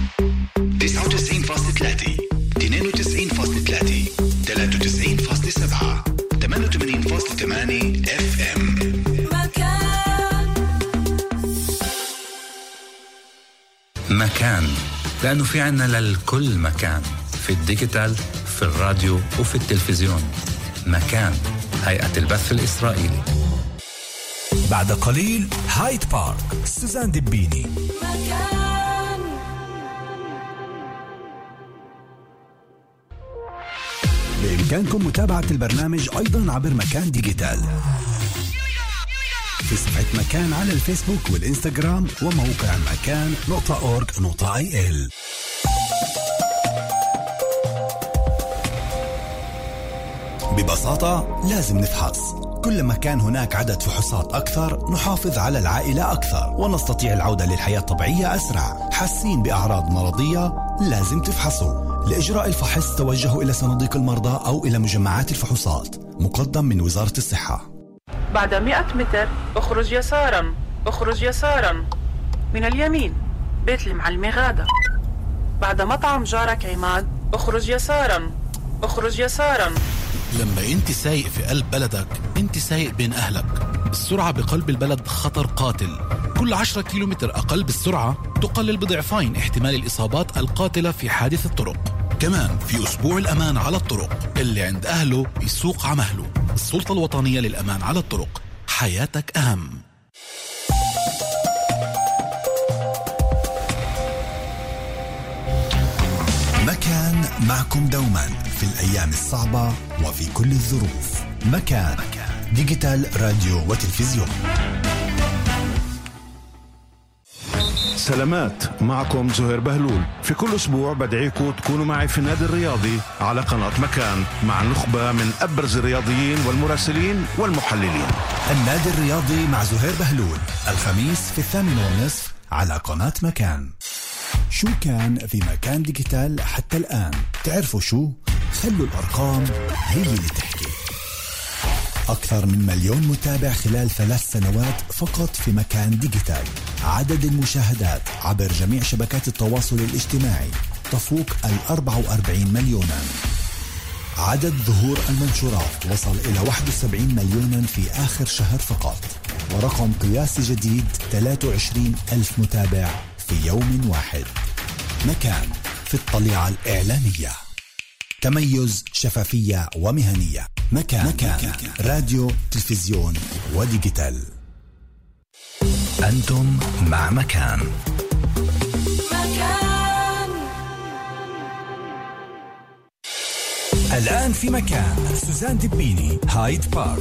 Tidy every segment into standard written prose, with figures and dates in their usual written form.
99.3 92.3 93.7 88.8 FM. مكان، لأنه في عنا للكل مكان، في الديجيتال، في الراديو وفي التلفزيون. مكان، هيئة البث الإسرائيلي. بعد قليل هايد بارك، سوزان دبيني. مكان. بإمكانكم متابعة البرنامج أيضا عبر مكان ديجيتال في صفحة مكان على الفيسبوك والإنستغرام وموقع مكان.org.il. ببساطة لازم نفحص. كلما كان هناك عدد فحوصات أكثر نحافظ على العائلة أكثر ونستطيع العودة للحياة الطبيعية أسرع. حاسين بأعراض مرضية لازم تفحصوا. لإجراء الفحص توجهوا إلى صناديق المرضى أو إلى مجمعات الفحوصات. مقدم من وزارة الصحة. بعد 100 متر اخرج يسارا، اخرج يسارا من اليمين، بيت المعلمة غادة. بعد مطعم جارك عماد اخرج يسارا، اخرج يسارا. لما انت سايق في قلب بلدك انت سايق بين اهلك. السرعة بقلب البلد خطر قاتل. كل 10 كيلومتر اقل بالسرعة تقلل بضعفين احتمال الاصابات القاتلة في حادث الطرق. كمان في اسبوع الامان على الطرق، اللي عند اهله يسوق عمهله. السلطة الوطنية للامان على الطرق، حياتك اهم. مكان معكم دوما في الأيام الصعبة وفي كل الظروف. مكان ديجيتال راديو وتلفزيون. سلامات، معكم زهير بهلول. في كل أسبوع بدعيكم تكونوا معي في النادي الرياضي على قناة مكان مع نخبة من أبرز الرياضيين والمراسلين والمحللين. النادي الرياضي مع زهير بهلول الخميس في 8:30 على قناة مكان. شو كان في مكان ديجيتال حتى الآن؟ تعرفوا شو؟ خلوا الأرقام هي اللي تحكي. أكثر من 1,000,000 متابع خلال 3 سنوات فقط في مكان ديجيتال. عدد المشاهدات عبر جميع شبكات التواصل الاجتماعي تفوق 44 مليونا. عدد ظهور المنشورات وصل إلى 71 مليونا في آخر شهر فقط. ورقم قياسي جديد 23,000 متابع في يوم واحد. مكان في الطليعة الإعلامية. تميز، شفافية ومهنية. مكان راديو، تلفزيون وديجيتال. أنتم مع مكان. الآن في مكان سوزان دبيني، هايد بارك.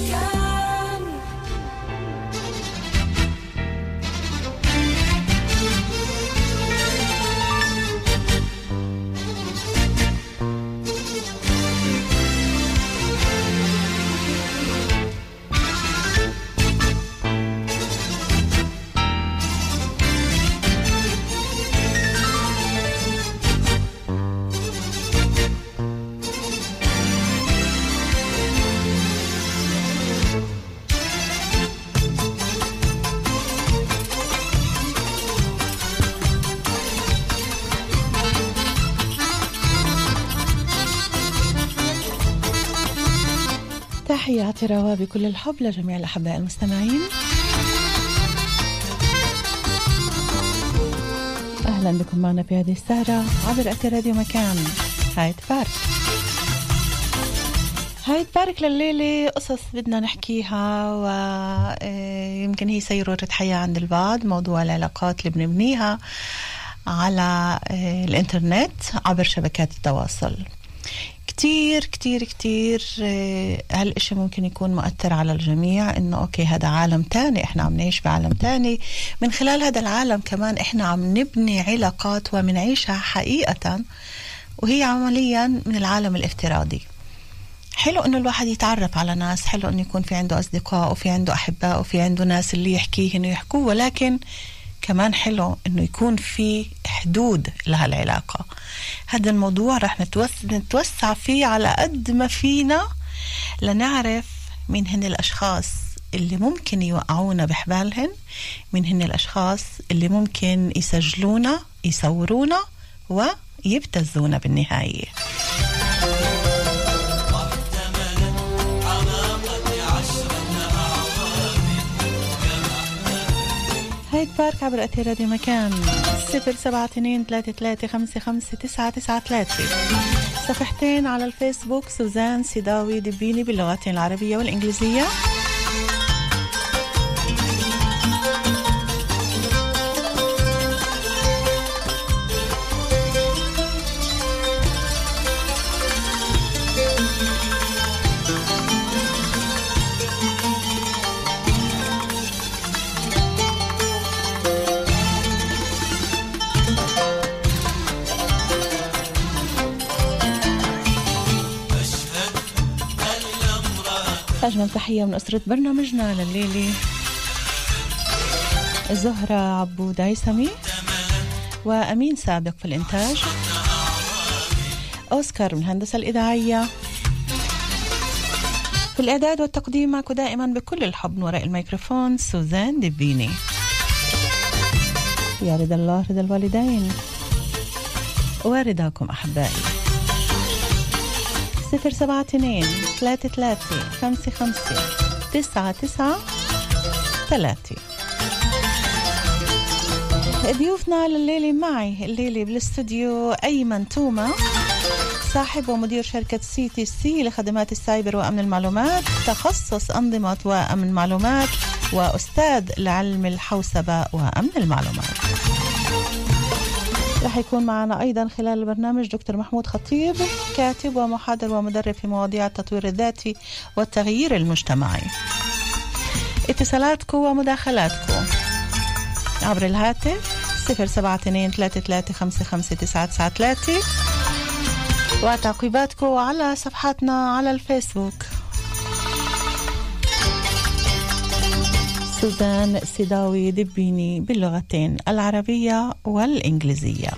تحياتي روا بكل الحب لجميع الأحباء المستمعين. أهلا بكم معنا في هذه السهرة عبر أثير راديو مكان. هايد بارك. هايد بارك لليلة قصص بدنا نحكيها، ويمكن هي سيرورة حياة عند البعض. موضوع العلاقات اللي بنبنيها على الإنترنت عبر شبكات التواصل. كتير كتير كتير هالإشي ممكن يكون مؤثر على الجميع، إنه أوكي هذا عالم تاني، إحنا عم نعيش بعالم تاني. من خلال هذا العالم كمان إحنا عم نبني علاقات ومنعيشها حقيقة، وهي عمليا من العالم الافتراضي. حلو إنه الواحد يتعرف على ناس، حلو إنه يكون في عنده أصدقاء وفي عنده أحباء وفي عنده ناس اللي يحكيه إنه يحكوه، ولكن كمان حلو إنه يكون في حدود لهالعلاقة. هذا الموضوع رح نتوسع فيه على قد ما فينا لنعرف مين هن الأشخاص اللي ممكن يوقعونا بحبالهن، مين هن الأشخاص اللي ممكن يسجلونا يصورونا ويبتزونا بالنهاية. هيك بارك عبر أثير راديو مكان 0723355993. صفحتين على الفيسبوك سوزان سيداوي دبيني باللغتين العربية والإنجليزية. أجمل تحية من أسرة برنامجنا لليلة، زهرة عبود عيسمي وأمين سابق في الإنتاج، أوسكار من الهندسة الإذاعية، في الإعداد والتقديم معكم دائما بكل الحب من وراء الميكروفون سوزان دبيني. يا رضا الله رضا الوالدين ورضاكم أحبائي. 072-33-55-99-3. ضيوفنا لليلة معي الليلة بالاستوديو أيمن توما، صاحب ومدير شركة CTC لخدمات السايبر وأمن المعلومات، تخصص أنظمة وأمن معلومات، وأستاذ لعلم الحوسبة وأمن المعلومات. رح يكون معنا أيضا خلال البرنامج دكتور محمود خطيب، كاتب ومحاضر ومدرب في مواضيع التطوير الذاتي والتغيير المجتمعي. اتصالاتكم ومداخلاتكم عبر الهاتف 072-33-55-99-3، وتعقيباتكم على صفحاتنا على الفيسبوك سوزان سيداوي دبيني باللغتين العربية والإنجليزية.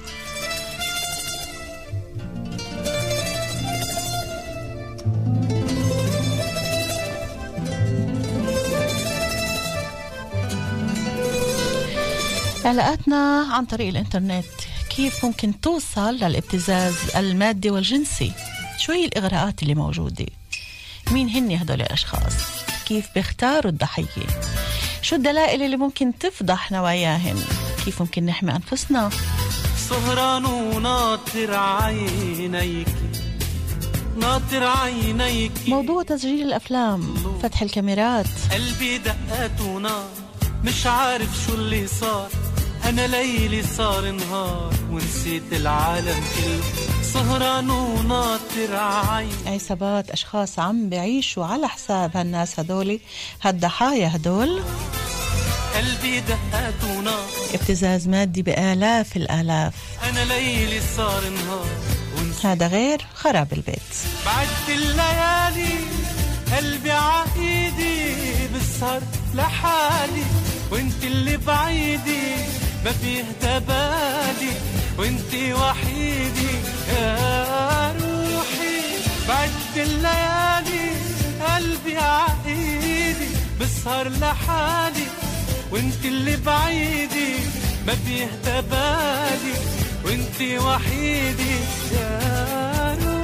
علاقاتنا عن طريق الإنترنت، كيف ممكن توصل للابتزاز المادي والجنسي؟ شو هي الإغراءات اللي موجودة؟ مين هن هدول الأشخاص؟ كيف بيختاروا الضحية؟ شو الدلائل اللي ممكن تفضح نواياهن؟ كيف ممكن نحمي أنفسنا؟ سهران وناطر عينيك، ناطر عينيك. موضوع تسجيل الأفلام، فتح الكاميرات. قلبي دقات ونار، مش عارف شو اللي صار. أنا ليلي صار نهار ونسيت العالم كله. سهران وناطر عين. عصابات أشخاص عم بيعيشوا على حساب هالناس هدولي، هالضحايا هدول. قلبي دقات ونار، ابتزاز مادي بآلاف الآلاف. أنا ليلي صار نهار ونسيت. هذا غير خراب البيت. بعد الليالي قلبي عايدي بالسهر لحالي، وانت اللي بعيدي ما فيه تبالي، وانت وحيدي يا روحي. بعد الليالي قلبي عايدي بالسهر لحالي، وانت اللي بعيدي ما فيه تبالي، وانت وحيدي يا روحي.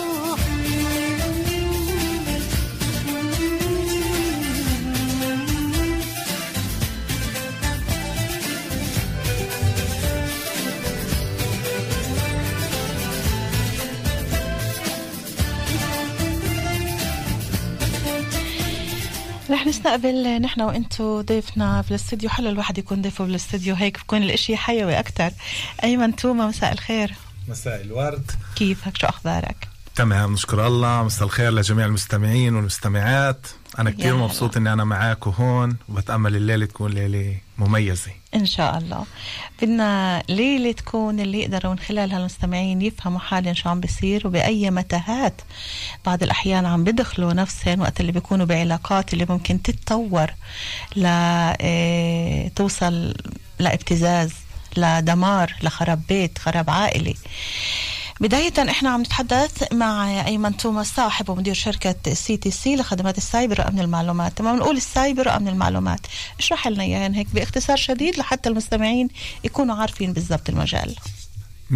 رح نستقبل نحن وانتو ضيفنا في الاستوديو. حلو الواحد يكون ضيفه بالاستوديو، هيك بكون الاشي حيوي اكتر. ايمن توما، مساء الخير. مساء الورد. كيفك؟ شو اخبارك؟ تمام، نشكر الله. مساء الخير لجميع المستمعين والمستمعات. انا كتير مبسوط اني انا معاكم هون، وبتأمل الليلة تكون ليلة مميزة ان شاء الله. بدنا ليلة تكون اللي يقدروا من خلالها المستمعين يفهموا حاليا شو عم بيصير، وبأي متاهات بعض الأحيان عم بدخلوا نفسهم وقت اللي بيكونوا بعلاقات اللي ممكن تتطور توصل لابتزاز، لدمار، لخراب بيت، خراب عائلي. بداية احنا عم نتحدث مع أيمن توماس صاحب ومدير شركة CTC لخدمات السايبر وأمن المعلومات. لما بنقول السايبر وأمن المعلومات اشرح لنا إياها هيك باختصار شديد لحتى المستمعين يكونوا عارفين بالضبط المجال. 100%.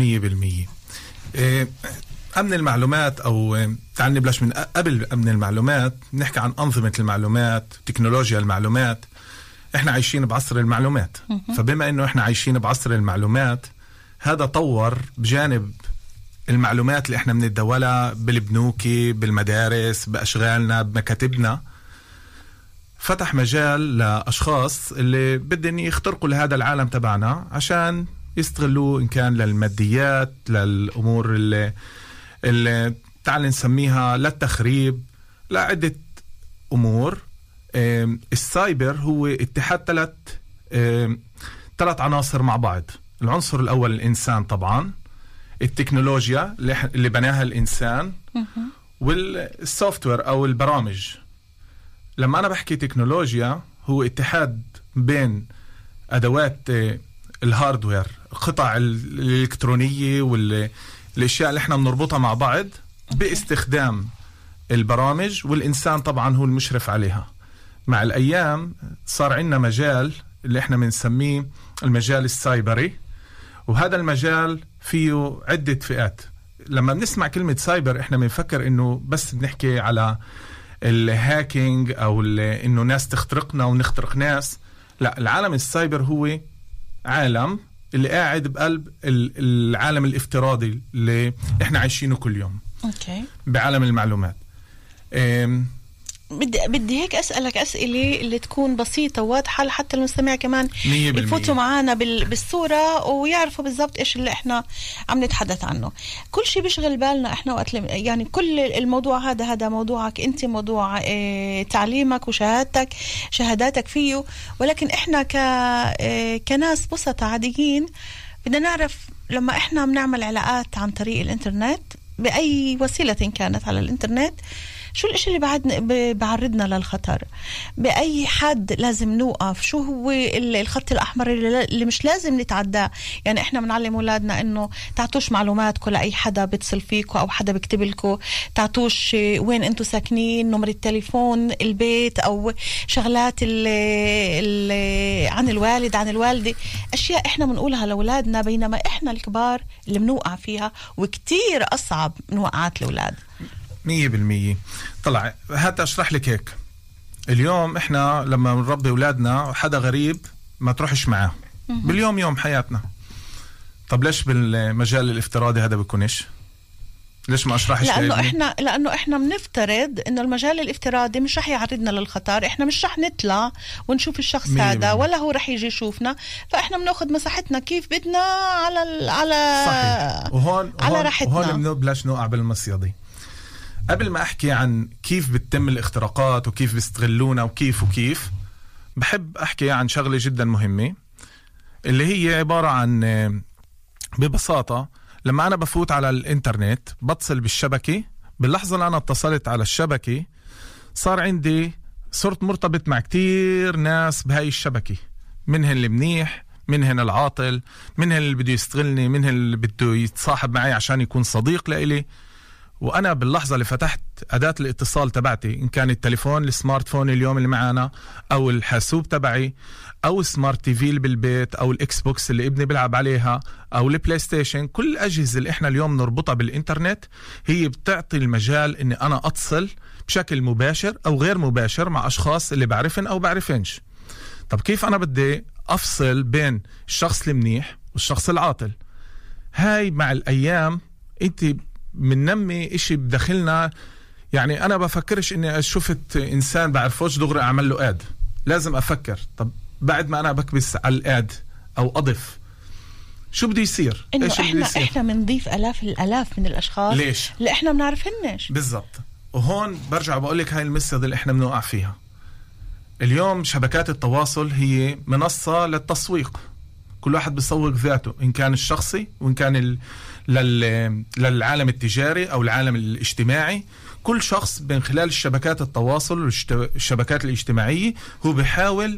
أمن المعلومات أو تعال نبلش من قبل أمن المعلومات، نحكي عن أنظمة المعلومات، تكنولوجيا المعلومات. إحنا عايشين بعصر المعلومات، فبما إنه إحنا عايشين بعصر المعلومات هذا طور بجانب المعلومات اللي إحنا بنتداولها بالبنوك، بالمدارس، بأشغالنا، بمكاتبنا، فتح مجال لأشخاص اللي بدهم يخترقوا لهذا العالم تبعنا عشان يستغلوه، إن كان للماديات، للأمور اللي تعال نسميها للتخريب، لعدة أمور. السايبر هو اتحاد ثلاث عناصر مع بعض. العنصر الأول الإنسان طبعا، التكنولوجيا اللي بناها الإنسان، والسوفتوير أو البرامج. لما أنا بحكي تكنولوجيا هو اتحاد بين أدوات الهاردوير، القطع الإلكترونية والأشياء اللي احنا بنربطها مع بعض باستخدام البرامج، والإنسان طبعا هو المشرف عليها. مع الأيام صار عندنا مجال اللي احنا بنسميه المجال السايبري، وهذا المجال فيه عدة فئات. لما بنسمع كلمة سايبر احنا بنفكر انه بس بنحكي على الهاكينج او انه ناس تخترقنا ونخترق ناس. لا، العالم السايبر هو عالم اللي قاعد بقلب العالم الافتراضي اللي احنا عايشينه كل يوم. اوكي. بعالم المعلومات. بدي هيك أسألك أسئلة اللي تكون بسيطة وواضحة لحتى المستمع كمان يفوتوا معانا بالصورة ويعرفوا بالضبط إيش اللي إحنا عم نتحدث عنه. كل شيء بيشغل بالنا إحنا وقت يعني كل الموضوع هذا موضوعك أنت، موضوع تعليمك شهاداتك فيه، ولكن إحنا كناس بسطة عاديين بدنا نعرف لما إحنا بنعمل علاقات عن طريق الإنترنت بأي وسيلة كانت على الإنترنت، شو الاشي اللي بعرضنا للخطر؟ بأي حد لازم نوقف؟ شو هو الخط الأحمر اللي مش لازم نتعداه؟ يعني احنا بنعلم أولادنا انه تعطوش معلوماتكم لأي حدا بيتصل فيكم أو حدا بيكتب لكم، تعطوش وين انتوا ساكنين، نمر التليفون، البيت، أو شغلات عن الوالد عن الوالدة، أشياء احنا بنقولها لأولادنا بينما احنا الكبار اللي بنوقع فيها، وكتير أصعب من وقعات الأولاد. 100%. طلع هات أشرح لك هيك. اليوم إحنا لما نربي أولادنا حدا غريب ما تروحش معاه باليوم يوم حياتنا. طب ليش بالمجال الافتراضي هذا بيكونش؟ ليش ما أشرحش؟ لأنه إحنا بنفترض إنه المجال الافتراضي مش رح يعرضنا للخطر، إحنا مش رح نطلع ونشوف الشخص هذا ولا هو رح يجي يشوفنا، فإحنا بناخد مساحتنا كيف بدنا على صحيح. وهون راحتنا. وهون بلاش نوقع بالمصيدة. قبل ما أحكي عن كيف بتتم الاختراقات وكيف بيستغلونا وكيف بحب أحكي عن شغلة جدا مهمة، اللي هي عبارة عن ببساطة لما أنا بفوت على الإنترنت بتصل بالشبكة، باللحظة اللي أنا اتصلت على الشبكة صار عندي صرت مرتبط مع كتير ناس بهاي الشبكة، منهن اللي منيح، منهن العاطل، منهن اللي بده يستغلني، منهن اللي بده يتصاحب معي عشان يكون صديق لإلي. وأنا باللحظة اللي فتحت أداة الاتصال تبعتي، إن كان التليفون السمارت فون اليوم اللي معانا، أو الحاسوب تبعي، أو السمارت تي في اللي بالبيت، أو الإكس بوكس اللي ابني بيلعب عليها، أو البلاي ستيشن، كل الأجهزة اللي إحنا اليوم نربطها بالإنترنت هي بتعطي المجال إني أنا أتصل بشكل مباشر أو غير مباشر مع أشخاص اللي بعرفن أو بعرفنش. طب كيف أنا بدي أفصل بين الشخص المنيح والشخص العاطل؟ هاي مع الأيام أنت مننمي إشي بداخلنا. يعني أنا بفكرش إني شفت إنسان بعرفوش دغري أعمل له آد، لازم أفكر طب بعد ما أنا بكبس على الآد أو أضف شو بده يصير؟ إنه إحنا بنضيف الآلاف من الأشخاص ليش؟ اللي إحنا بنعرفهنش بالضبط. وهون برجع بقولك هاي المسيرة اللي إحنا بنوقع فيها اليوم. شبكات التواصل هي منصة للتسويق، كل واحد بيسوق ذاته، إن كان الشخصي وإن كان للعالم التجاري أو العالم الاجتماعي. كل شخص من خلال الشبكات التواصل والشبكات الاجتماعية هو بيحاول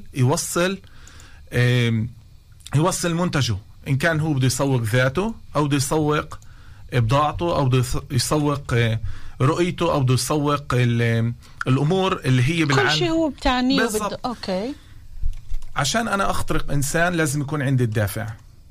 يوصل منتجه، إن كان هو بده يسوق ذاته أو بده يسوق بضاعته أو بده يسوق رؤيته أو بده يسوق الأمور اللي هي بالعالم. كل شيء هو بتعنيه بالضبط. أوكي. عشان أنا أخترق إنسان لازم يكون عندي الدافع،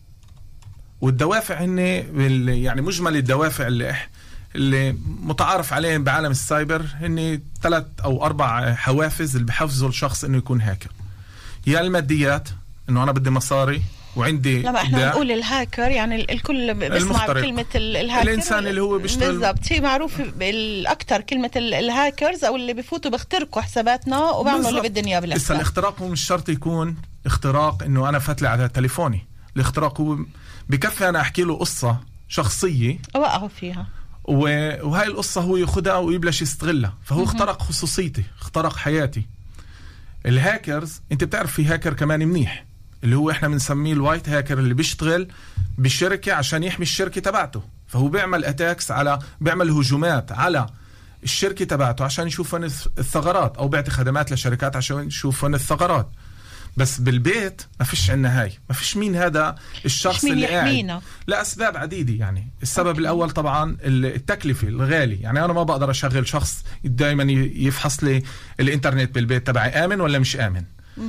والدوافع هن يعني مجمل الدوافع اللي متعارف عليهم بعالم السايبر هن 3 أو 4 حوافز اللي بحفزوا الشخص إنه يكون هاكر. يا الماديات، إنه أنا بدي مصاري وعندي لما احنا نقول الهاكر يعني الكل بيسمع كلمة الهاكر، الإنسان اللي هو بيشتغل بالضبط. هي معروف الأكثر كلمة الهاكرز أو اللي بيفوتوا بيخترقوا حساباتنا وبيعملوا اللي بدهم إياه بالأساس. لسه الاختراق هو مش شرط يكون اختراق إنه أنا فتلي على تليفوني. الاختراق هو بكفي أنا أحكي له قصة شخصية وقعوا فيها، وهاي القصة هو ياخدها ويبلش يستغلها، فهو اخترق خصوصيتي، اخترق حياتي. الهاكرز انت بتعرف في هاكر كمان منيح اللي هو احنا بنسميه الوايت هاكر، اللي بيشتغل بالشركة عشان يحمي الشركة تبعته، فهو بيعمل اتاكس بيعمل هجومات على الشركة تبعته عشان يشوفون الثغرات، او بيعطي خدمات لشركات عشان يشوفون الثغرات. بس بالبيت ما فيش عنا هاي، ما فيش مين هذا الشخص اللي قاعد، لأسباب عديدة. يعني السبب الأول طبعا التكلفة الغالي، يعني أنا ما بقدر أشغل شخص دايما يفحص لي الإنترنت بالبيت تبعي آمن ولا مش آمن.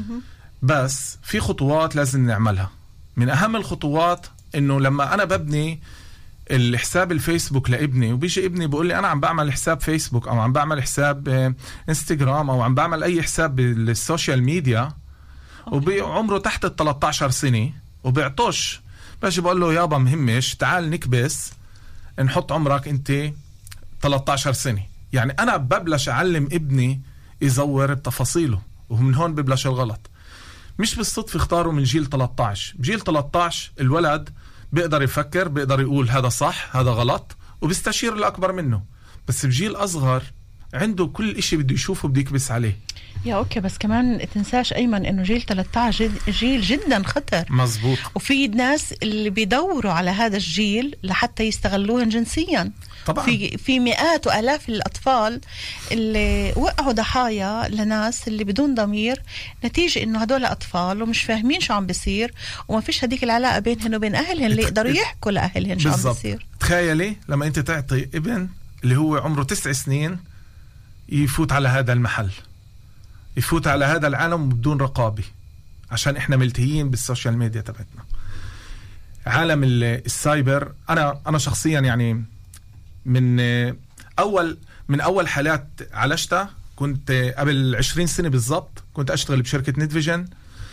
بس في خطوات لازم نعملها. من أهم الخطوات إنه لما أنا ببني الحساب الفيسبوك لابني وبيجي ابني بيقول لي أنا عم بعمل حساب فيسبوك أو عم بعمل حساب انستغرام أو عم بعمل أي حساب بالسوشيال ميديا وبعمره تحت 13 سنة وبيعطوش، باجي بقول له يابا مهمش، تعال نكبس نحط عمرك انت 13 سنة. يعني انا ببلش اعلم ابني يزور بتفاصيله، ومن هون ببلش الغلط. مش بالصدفة اختاروا من جيل 13. بجيل 13 الولد بيقدر يفكر، بيقدر يقول هذا صح هذا غلط، وبيستشير الأكبر منه. بس بجيل أصغر عنده كل إشي بده يشوفه بده يكبس عليه. يا أوكي، بس كمان تنساش أيمن إنه جيل 13 جيل جدا خطر. مزبوط. وفي ناس اللي بيدوروا على هذا الجيل لحتى يستغلوهم جنسيا. طبعا. في مئات وآلاف الأطفال اللي وقعوا ضحايا لناس اللي بدون ضمير، نتيجة إنه هدول أطفال ومش فاهمين شو عم بيصير، وما فيش هديك العلاقة بينهن وبين أهلهن اللي يقدروا يحكوا لأهلهن شو عم بيصير. تخيلي لما أنت تعطي ابن اللي هو عمره 9 سنين يفوت على هذا المحل، يفوت على هذا العالم بدون رقابة، عشان إحنا ملتهيين بالسوشيال ميديا تبعتنا. عالم السايبر أنا شخصيا يعني من أول حالات عالجتها كنت قبل 20 سنة بالضبط. كنت أشتغل بشركة نتفيجن.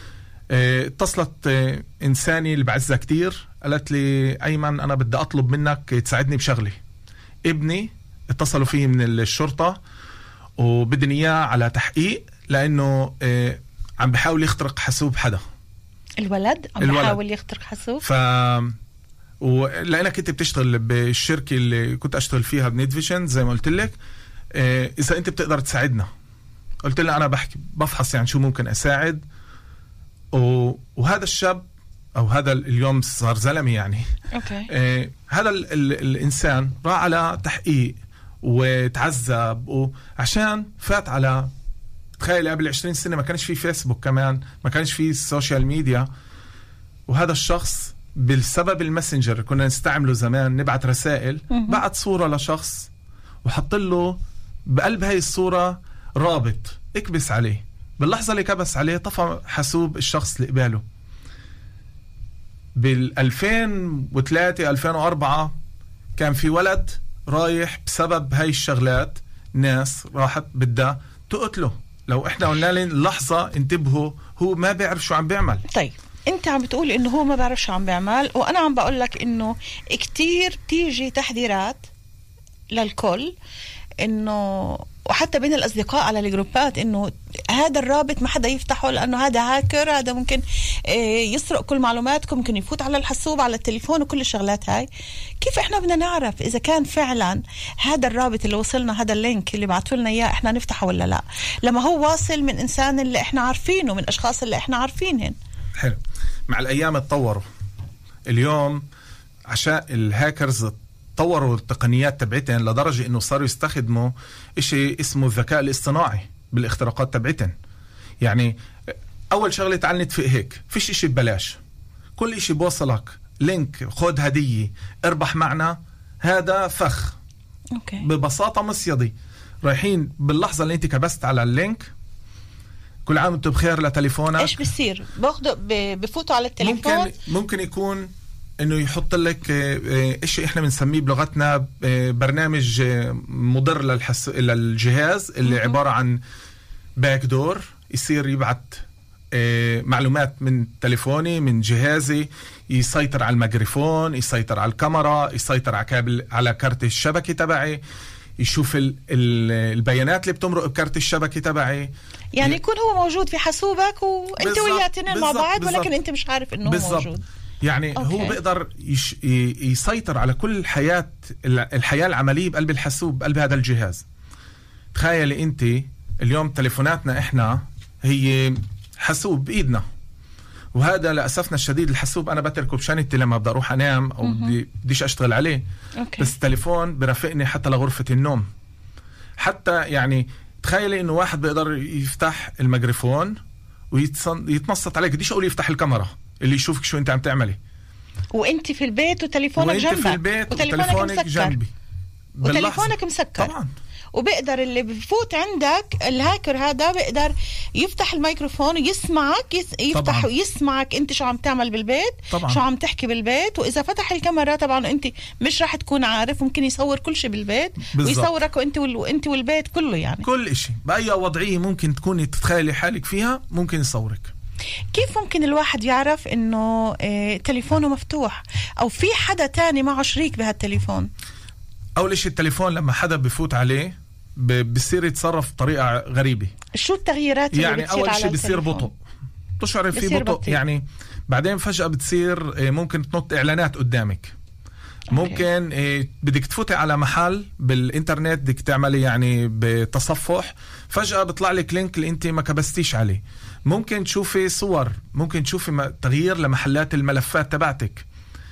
اتصلت إنساني اللي بعزها كتير، قالت لي أيمن أنا بدي أطلب منك تساعدني بشغلي. ابني اتصلوا فيه من الشرطة وبدن إياه على تحقيق لأنه عم بحاول يخترق حاسوب حدا. الولد بحاول يخترق حاسوب. ولأنك كنت بتشتغل بالشركة اللي كنت أشتغل فيها بنتفيجن زي ما قلت لك، إذا أنت بتقدر تساعدنا. قلت له أنا بفحص يعني شو ممكن أساعد. وهذا الشاب أو هذا اليوم صار زلمة يعني. أوكي. هذا الإنسان راح على تحقيق وتعذب عشان فات على، تخيل قبل 20 سنة ما كانش في فيسبوك، كمان ما كانش في السوشيال ميديا. وهذا الشخص بالسبب الماسنجر كنا نستعمله زمان، نبعت رسائل، بعت صورة لشخص وحط له بقلب هاي الصورة رابط اكبس عليه. باللحظة اللي كبس عليه طفى حاسوب الشخص اللي قباله. بال2003 2004 كان في ولد رايح بسبب هاي الشغلات، ناس راحت بدها تقتله. لو احنا قلنا لهم لحظة انتبهوا، هو ما بيعرف شو عم بيعمل. طيب انت عم بتقول انه هو ما بيعرف شو عم بيعمل، وانا عم بقول لك انه كتير تيجي تحذيرات للكل، انه وحتى بين الأصدقاء على الجروبات إنه هذا الرابط ما حدا يفتحه لأنه هذا هاكر، هذا ممكن يسرق كل معلوماتكم، ممكن يفوت على الحاسوب على التليفون وكل الشغلات هاي. كيف إحنا بدنا نعرف إذا كان فعلا هذا الرابط اللي وصلنا، هذا اللينك اللي بعتوا لنا إياه إحنا نفتحه ولا لا، لما هو واصل من إنسان اللي إحنا عارفينه، من أشخاص اللي إحنا عارفينهن؟ حلو. مع الأيام اتطوروا اليوم، عشان الهاكرز طوروا التقنيات تبعتهم لدرجة انه صاروا يستخدموا اشي اسمه الذكاء الاصطناعي بالاختراقات تبعتهم. يعني اول شغلة تعال نتفق هيك، فيش اشي ببلاش، كل اشي بوصلك لينك خد هدية اربح معنا، هذا فخ. أوكي. ببساطة مصيدي رايحين باللحظة اللي انت كبست على اللينك كل عام وانتم بخير لتليفونك. ايش بصير؟ باخده بفوتوا على التليفون. ممكن يكون انه يحط لك اشي احنا بنسميه بلغتنا برنامج مضر للجهاز اللي عبارة عن باك دور، يصير يبعت معلومات من تليفوني من جهازي، يسيطر على الميكروفون، يسيطر على الكاميرا، يسيطر على كابل على كارت الشبكة تبعي، يشوف البيانات اللي بتمرق بكارت الشبكة تبعي. يعني يكون هو موجود في حاسوبك وانت وياه تنين مع بعض، ولكن انت مش عارف انه هو موجود. يعني أوكي. هو بيقدر يسيطر على كل الحياة العملية بقلب الحاسوب، بقلب هذا الجهاز. تخيلي انت اليوم تليفوناتنا احنا هي حاسوب بايدنا، وهذا لأسفنا الشديد الحاسوب انا بتركه بشنطتي لما بدي اروح انام او بديش اشتغل عليه. أوكي. بس التليفون برافقني حتى لغرفة النوم. حتى يعني تخيلي انه واحد بيقدر يفتح الميكروفون ويتنصت عليك، بديش اقول يفتح الكاميرا اللي يشوفك شو انت عم تعملي وانت في البيت وتليفونك جنبك، في البيت وتليفونك جنبي وتليفونك مسكر طبعا. وبيقدر اللي بفوت عندك الهاكر هذا بيقدر يفتح الميكروفون ويسمعك، يفتح ويسمعك انت شو عم تعمل بالبيت طبعا. شو عم تحكي بالبيت. واذا فتح الكاميرا طبعا انت مش راح تكون عارف، ممكن يصور كل شيء بالبيت بالزبط. ويصورك وانت والبيت كله، يعني كل شيء باي وضعيه ممكن تكوني تتخيلي حالك فيها ممكن يصورك. كيف ممكن الواحد يعرف انه تليفونه مفتوح او في حدا تاني معه شريك بهالتليفون؟ اول شيء التليفون لما حدا بفوت عليه بصير يتصرف بطريقة غريبة. شو التغييرات اللي يعني بتصير؟ أول شيء بصير بطء، تشعر فيه بطء يعني. بعدين فجأة بتصير ممكن تنط إعلانات قدامك. ممكن بدك تفوتي على محل بالإنترنت بدك تعملي يعني بتصفح، فجأة بيطلع لك لينك اللي أنت ما كبستيش عليه. ممكن تشوفي صور، ممكن تشوفي تغيير لمحلات الملفات تبعتك.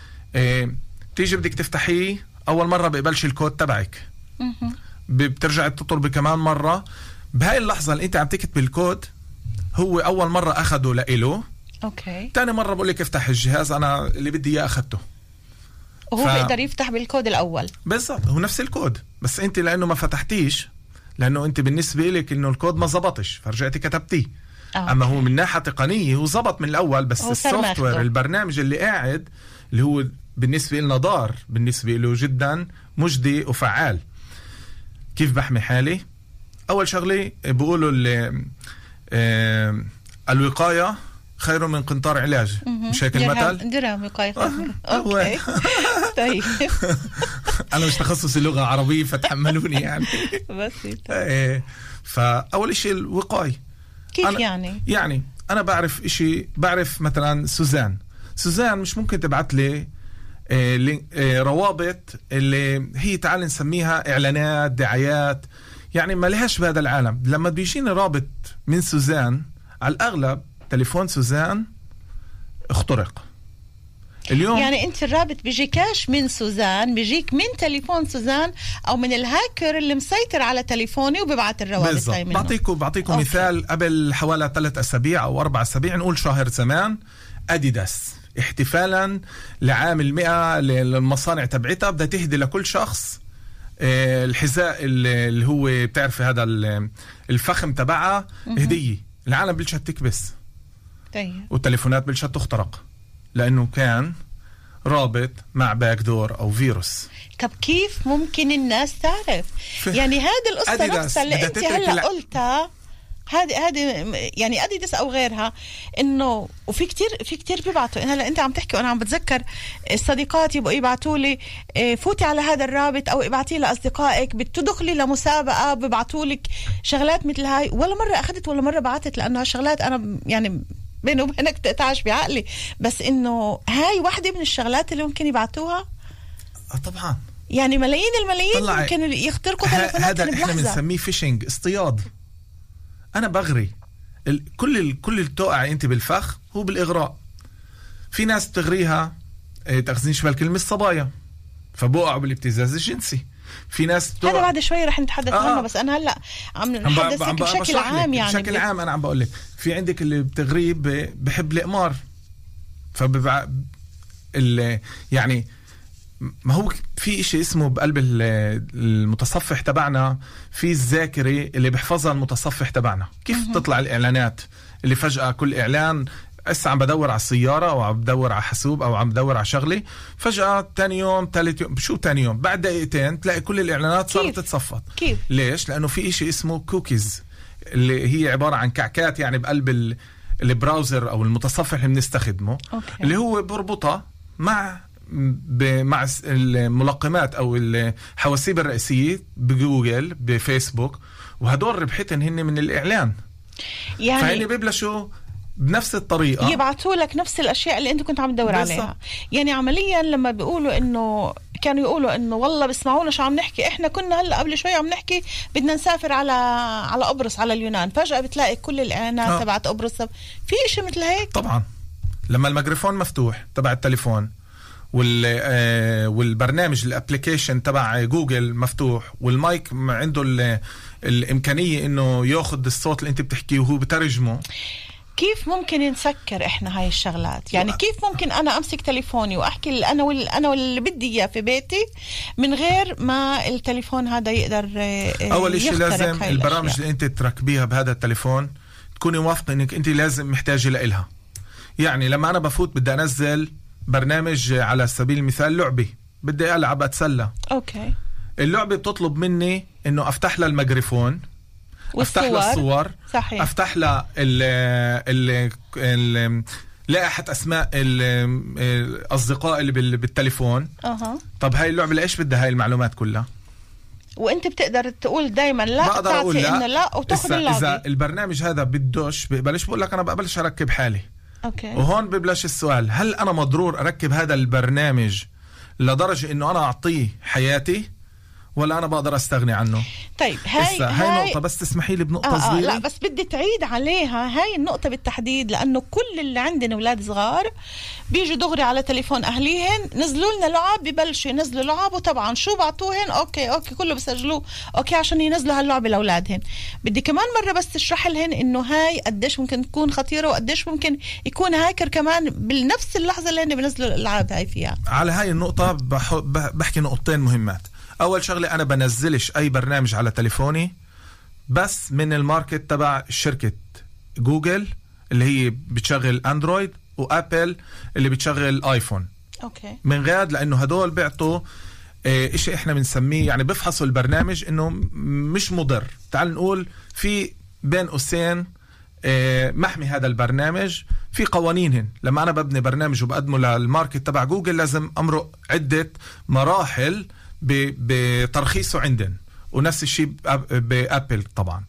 تيجي بدك تفتحيه أول مرة بقبلش الكود تبعك، بترجع تطلب كمان مرة. بهاي اللحظة اللي انت عم تكتب الكود هو أول مرة أخده لإله. أوكي. تاني مرة بقول لك افتح الجهاز أنا اللي بدي إياه أخدته، وهو بيقدر يفتح بالكود الأول. بالضبط، هو نفس الكود، بس انت لأنه ما فتحتيش، لأنه انت بالنسبة لك إنه الكود ما زبطش فرجعتي كتبتيه. أما هو من ناحية تقنية هو زبط من الأول، بس السوفت وير البرنامج اللي قاعد اللي هو بالنسبة لنا ضار، بالنسبة له جدا مجدي وفعال. كيف بحمي حالي؟ أول شغلة بقولوا الوقاية خير من قنطار علاج، مش هيك المثل؟ درهم وقاية أوكي. طيب أنا مش تخصص اللغة العربية فتحملوني يعني. بسيطة. فأول إشي الوقاية. كيف يعني؟ يعني أنا بعرف إشي، بعرف مثلا سوزان مش ممكن تبعت لي روابط اللي هي تعال نسميها إعلانات دعايات، يعني ما لهاش بهذا العالم. لما بيجيني رابط من سوزان على الأغلب تليفون سوزان اخترق اليوم. يعني انت الرابط بيجيكاش من سوزان، بيجيك من تليفون سوزان او من الهاكر اللي مسيطر على تليفوني وبيبعت الروابط هاي منه. بعطيكم مثال. قبل حوالي 3 أسابيع أو 4 أسابيع، نقول شهر زمان، أديداس احتفالا لعام 100 للمصانع تبعتها بدها تهدي لكل شخص الحذاء اللي هو بتعرف هذا الفخم تبعها هدية. العالم بلشت تكبس. طيب. والتليفونات بلشت تخترق لأنه كان رابط مع باك دور أو فيروس. طب كيف ممكن الناس تعرف؟ يعني هذه القصة نفسها اللي انت هلا قلتها، هذه يعني أديداس أو غيرها، إنه وفي كتير بيبعتوا. هلا أنت عم تحكي وأنا عم بتذكر الصديقات يبقوا يبعتوا لي فوتي على هذا الرابط أو ابعتي لأصدقائك، بتدخلي لمسابقة ببعتوا لك شغلات مثل هاي. ولا مرة أخذت ولا مرة بعتت، لأنه هالشغلات أنا يعني بيني وبينك تقطعش بعقلي، بس إنه هاي واحدة من الشغلات اللي ممكن يبعتوها. طبعا يعني ملايين الملايين ممكن يخترقوا تليفونات. هذا احنا بنسميه فيشنج، اصطياد. أنا بغري كل التوقع أنت بالفخ هو بالإغراء. في ناس بتغريها تخزينش بالكلمة الصبايا فبوقعوا بالابتزاز الجنسي. في ناس هذا بعد شوي رح نتحدث عنه، بس أنا هلأ عم نحدثك بشكل عام. يعني بشكل عام أنا عم بقول لك في عندك اللي بتغريه بحب الإقمار، فببع يعني ما هو في إشي اسمه بقلب المتصفح تبعنا، في الذاكرة اللي بحفظها المتصفح تبعنا. كيف تطلع الإعلانات اللي فجأة كل إعلان عم بدور على السيارة أو عم بدور على حاسوب أو عم بدور على شغلة، فجأة تاني يوم ثالث يوم، شو تاني يوم بعد دقيقتين تلاقي كل الإعلانات صارت تتصفط. كيف؟ ليش؟ لأنه في إشي اسمه كوكيز، اللي هي عبارة عن كعكات يعني بقلب البراوزر أو المتصفح اللي بنستخدمه. اللي هو بربطها مع الملقمات أو الحواسيب الرئيسية بجوجل بفيسبوك، وهدول ربحتن هن من الإعلان. يعني فهني بيبلشوا بنفس الطريقة يبعثوا لك نفس الأشياء اللي أنت كنت عم تدور عليها. يعني عمليا لما بيقولوا إنه كانوا يقولوا إنه والله بسمعونا شو عم نحكي، إحنا كنا هلأ قبل شوي عم نحكي بدنا نسافر على قبرص على اليونان، فجأة بتلاقي كل الإعلانات تبعت قبرص. في إشي مثل هيك طبعا. لما الميكروفون مفتوح تبع التليفون والبرنامج الابليكيشن تبع جوجل مفتوح والمايك عنده الإمكانية إنه ياخد الصوت اللي أنت بتحكيه وهو بترجمه، كيف ممكن نسكر إحنا هاي الشغلات؟ يعني كيف ممكن أنا أمسك تليفوني وأحكي أنا واللي بدي إياه في بيتي من غير ما التليفون هذا يقدر أول شيء لازم البرامج اللي أنت تركبيها بهذا التليفون تكوني موافقة إنك أنت لازم محتاجة لإلها. يعني لما أنا بفوت بدي أنزل برنامج على سبيل المثال لعبة، بدي ألعب أتسلى، أوكي، اللعبة بتطلب مني إنه أفتح لها الميكروفون، أفتح لها الصور، صحيح. أفتح لها لائحة أسماء الأصدقاء اللي بالتليفون. طب هاي اللعبة لإيش بدها هاي المعلومات كلها؟ وانت بتقدر تقول دايما لا، بقدر اقول لا، إنه لا وتاخذ اللعبة. اذا البرنامج هذا بدوش ببلش بقول لك انا بقبلش اركب حالي. اوكي. وهون ببلش السؤال، هل انا مضرور اركب هذا البرنامج لدرجة انه انا اعطيه حياتي ولا انا بقدر استغني عنه؟ طيب هاي نقطة، بس تسمحي لي بنقطة صغيرة. لا بس بدي تعيد عليها هاي النقطة بالتحديد، لأنه كل اللي عندنا أولاد صغار بيجوا دغري على تليفون أهليهن، نزلوا لنا لعب، ببلشوا ينزلوا لعب، وطبعا شو بعطوهن أوكي كله بسجلوه أوكي عشان ينزلوا هاللعبة لأولادهن. بدي كمان مرة بس تشرح لهن إنه هاي قديش ممكن تكون خطيرة، وقديش ممكن يكون هاكر كمان بنفس اللحظة اللي هن بنزلوا الألعاب هاي فيها. على هاي النقطة بحكي نقطتين مهمات. أول شغلة، أنا بنزلش أي برنامج على تليفوني بس من الماركت تبع شركة جوجل اللي هي بتشغل أندرويد، وأبل اللي بتشغل آيفون. أوكي. من غير لأنه هدول بيعطوا إشي إحنا بنسميه، يعني بفحصوا البرنامج إنه مش مضر. تعال نقول في بين قوسين محمي هذا البرنامج، في قوانينهن. لما أنا ببني برنامج وبقدمه للماركت تبع جوجل لازم أمرق عدة مراحل بترخيصه عندن، ونفس الشيء بأبل طبعا.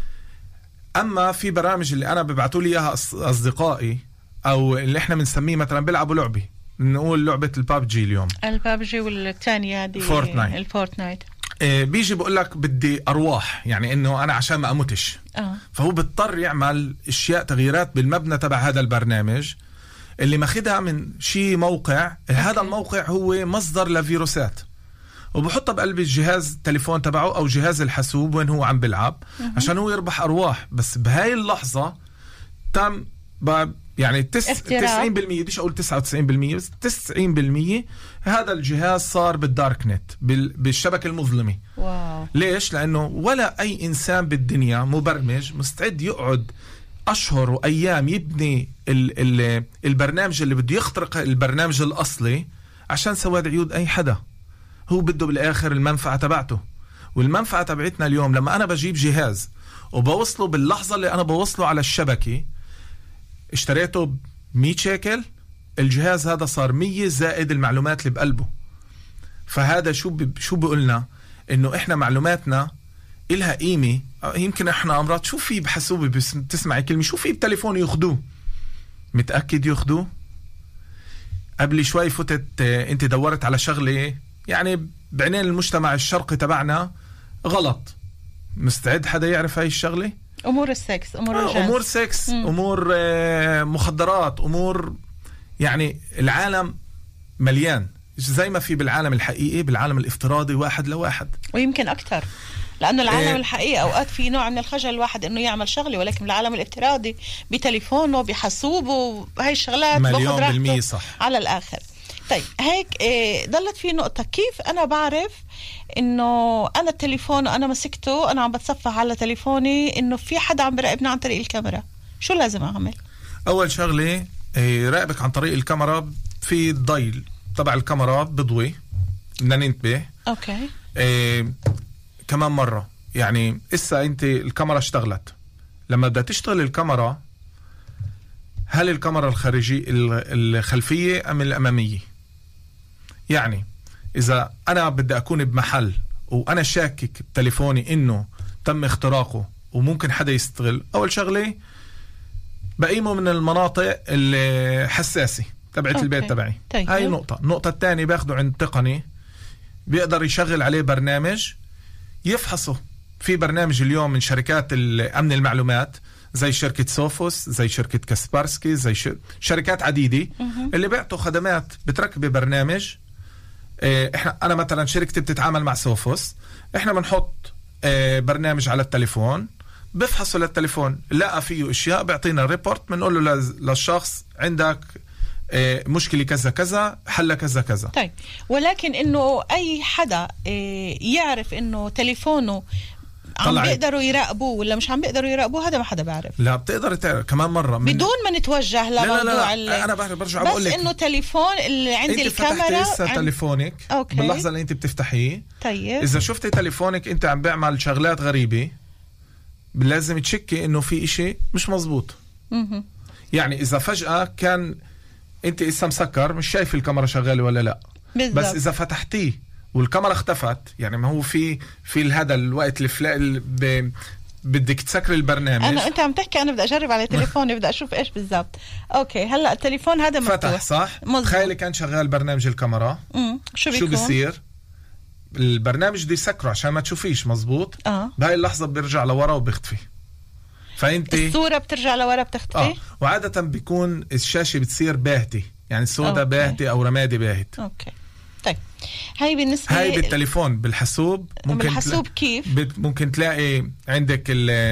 أما في برامج اللي أنا ببعتوا لي إياها أصدقائي أو اللي إحنا بنسميه مثلا بيلعبوا لعبة، نقول لعبة البابجي اليوم، البابجي والثانية هذه الفورتنايت، بيجي بقول لك بدي أرواح، يعني إنه أنا عشان ما أموتش. فهو بيضطر يعمل أشياء تغييرات بالمبنى تبع هذا البرنامج اللي ماخدها من شيء موقع. هذا الموقع هو مصدر لفيروسات، وبحطها بقلب الجهاز التليفون تبعه أو جهاز الحاسوب وين هو عم بلعب عشان هو يربح أرواح. بس بهاي اللحظة تم يعني 90%، بديش أقول 99%، بس 90% هذا الجهاز صار بالدارك نت، بالشبكة المظلمة. واو. ليش؟ لأنه ولا أي إنسان بالدنيا مبرمج مستعد يقعد أشهر وأيام يبني البرنامج اللي بده يخترق البرنامج الأصلي عشان سواد عيود أي حدا. هو بده بالآخر المنفعة تبعته. والمنفعة تبعتنا اليوم لما أنا بجيب جهاز وبوصله باللحظة اللي أنا بوصله على الشبكة، اشتريته ب100 شيكل، الجهاز هذا صار 100 زائد المعلومات اللي بقلبه. فهذا شو بقولنا؟ إنه إحنا معلوماتنا إلها قيمة. يمكن إحنا أمراض شو في بحسوبة بتسمعي كلمة شو في بتليفون ياخدوه، متأكد ياخدوه؟ قبل شوي فتت أنت دورت على شغلة يعني بعينين المجتمع الشرقي تبعنا غلط. مستعد حدا يعرف هاي الشغلة؟ أمور السكس، أمور سكس، أمور مخدرات، أمور يعني العالم مليان زي ما في بالعالم الحقيقي، بالعالم الافتراضي 1 ل1 ويمكن أكتر، لأنه العالم الحقيقي أوقات في نوع من الخجل الواحد إنه يعمل شغلة، ولكن العالم الافتراضي بتليفونه بحاسوبه هاي الشغلات مليون بالمية صح على الآخر. طيب هيك ضلت في نقطة، كيف أنا بعرف إنه أنا التليفون أنا مسكته أنا عم بتصفح على تليفوني إنه في حدا عم براقبني عن طريق الكاميرا؟ شو لازم أعمل؟ أول شغلة راقبك عن طريق الكاميرا، في الضي تبع الكاميرا بضوي، بدنا ننتبه. أوكي. كمان مرة يعني إسا أنت الكاميرا اشتغلت، لما بدها تشتغل الكاميرا هل الكاميرا الخلفية أم الأمامية؟ يعني إذا أنا بدي أكون بمحل وأنا شاكك بتليفوني إنه تم اختراقه وممكن حدا يستغل، أول شغلة بقيمه من المناطق الحساسة تبعت البيت تبعي. طيب. هاي نقطة. النقطة الثانية باخده عند تقني بيقدر يشغل عليه برنامج يفحصه. في برنامج اليوم من شركات أمن المعلومات زي شركة سوفوس، زي شركة كاسبارسكي، زي شركات عديدة اللي بيعطوا خدمات بتركب برنامج. أنا مثلا شركتي بتتعامل مع سوفوس، إحنا بنحط برنامج على التليفون بفحصه للتليفون، لقى فيه اشياء بيعطينا ريبورت، بنقول له للشخص عندك مشكلة كذا كذا، حل كذا كذا. طيب ولكن انه اي حدا يعرف انه تليفونه عم بيقدروا يراقبوه ولا مش عم بيقدروا يراقبوه، هذا ما حدا بيعرف. لا بتقدر تعرف كمان مرة بدون ما نتوجه لموضوع لا انا برجع بقول لك بس انه تليفون اللي عند الكاميرا انت فتحتي تليفونك باللحظة اللي انت بتفتحيه. طيب اذا شفتي تليفونك انت عم بيعمل شغلات غريبة لازم تشكي انه في اشي مش مزبوط. يعني اذا فجأة كان انت اسا مسكر مش شايف الكاميرا شغالة ولا لا بالزبط. بس اذا فتحتيه والكاميرا اختفت، يعني ما هو في هذا الوقت بدك تسكر البرنامج. انت عم تحكي انا بدي اجرب على تليفوني بدي اشوف ايش بالضبط. اوكي هلا التليفون هذا مفتوح فتح صح. تخيلي كان شغال برنامج الكاميرا شو بيصير؟ البرنامج دي يسكره عشان ما تشوفيش مزبوط. بهاي اللحظة بيرجع لورا وبيختفي، فانت الصورة بترجع لورا بتختفي. وعادة بيكون الشاشة بتصير باهتة، يعني السوداء باهتة او رمادي باهت. اوكي طيب هاي بالنسبة هاي بالتليفون. بالحاسوب ممكن بالحاسوب كيف ممكن تلاقي عندك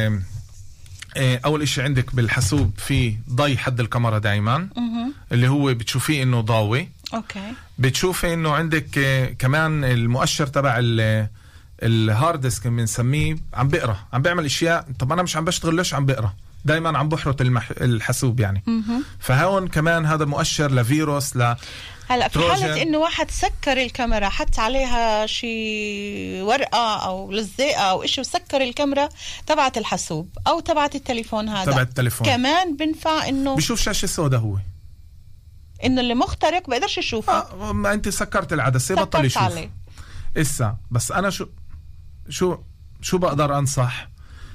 اول اشي عندك بالحاسوب في ضي حد الكاميرا دايما اللي هو بتشوفيه انه ضاوي. اوكي بتشوفي انه عندك كمان المؤشر تبع الهارد ديسك بنسميه عم بقرا، عم بيعمل اشياء. طب انا مش عم بشتغل، ليش عم بقرا؟ دايما عم بحرط الحاسوب يعني. فهون كمان هذا مؤشر لفيروس هلا في حالة انه واحد سكر الكاميرا حط عليها شي ورقة او لزقة او اشي وسكر الكاميرا تبعت الحاسوب او تبعت التليفون، هذا تبع التليفون كمان بنفع انه بشوف شاشة سوداء، هو انه اللي مخترق بقدرش يشوفه. ما انت سكرت العدسة بطل يشوف عليه. إسا بس انا شو بقدر انصح؟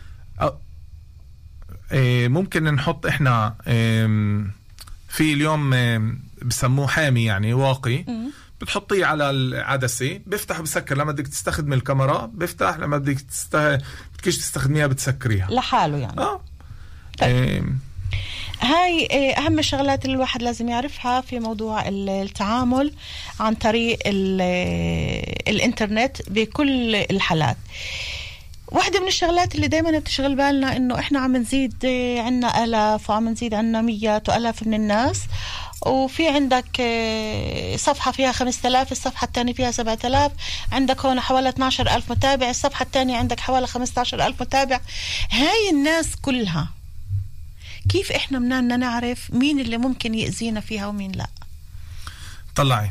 ممكن نحط احنا في اليوم بسموه حامي يعني واقي، بتحطيه على العدسة بيفتح وبسكر. لما بدك تستخدم الكاميرا بيفتح، لما بدك بدكش تستخدميها بتسكريها لحاله يعني. طيب. هاي أهم الشغلات اللي الواحد لازم يعرفها في موضوع التعامل عن طريق الإنترنت بكل الحالات. واحدة من الشغلات اللي دايما بتشغل بالنا إنه إحنا عم نزيد عنا آلاف وعم نزيد عنا ميات وآلاف من الناس، وفي عندك صفحة فيها 5000، الصفحة الثانية فيها 7000، عندك هون حوالي 12000 متابع، الصفحة الثانية عندك حوالي 15000 متابع. هاي الناس كلها كيف إحنا بدنا نعرف مين اللي ممكن يأذينا فيها ومين لا؟ طلعي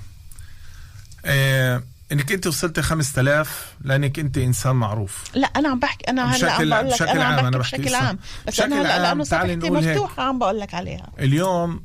انك انت وصلت 5000 لانك انت انسان معروف. لا انا عم بحكي، انا هلا عم بقول لك انا بحكي بشكل عام، بس انا هلا لانه صفحتي مفتوحه عم بقول لك عليها اليوم.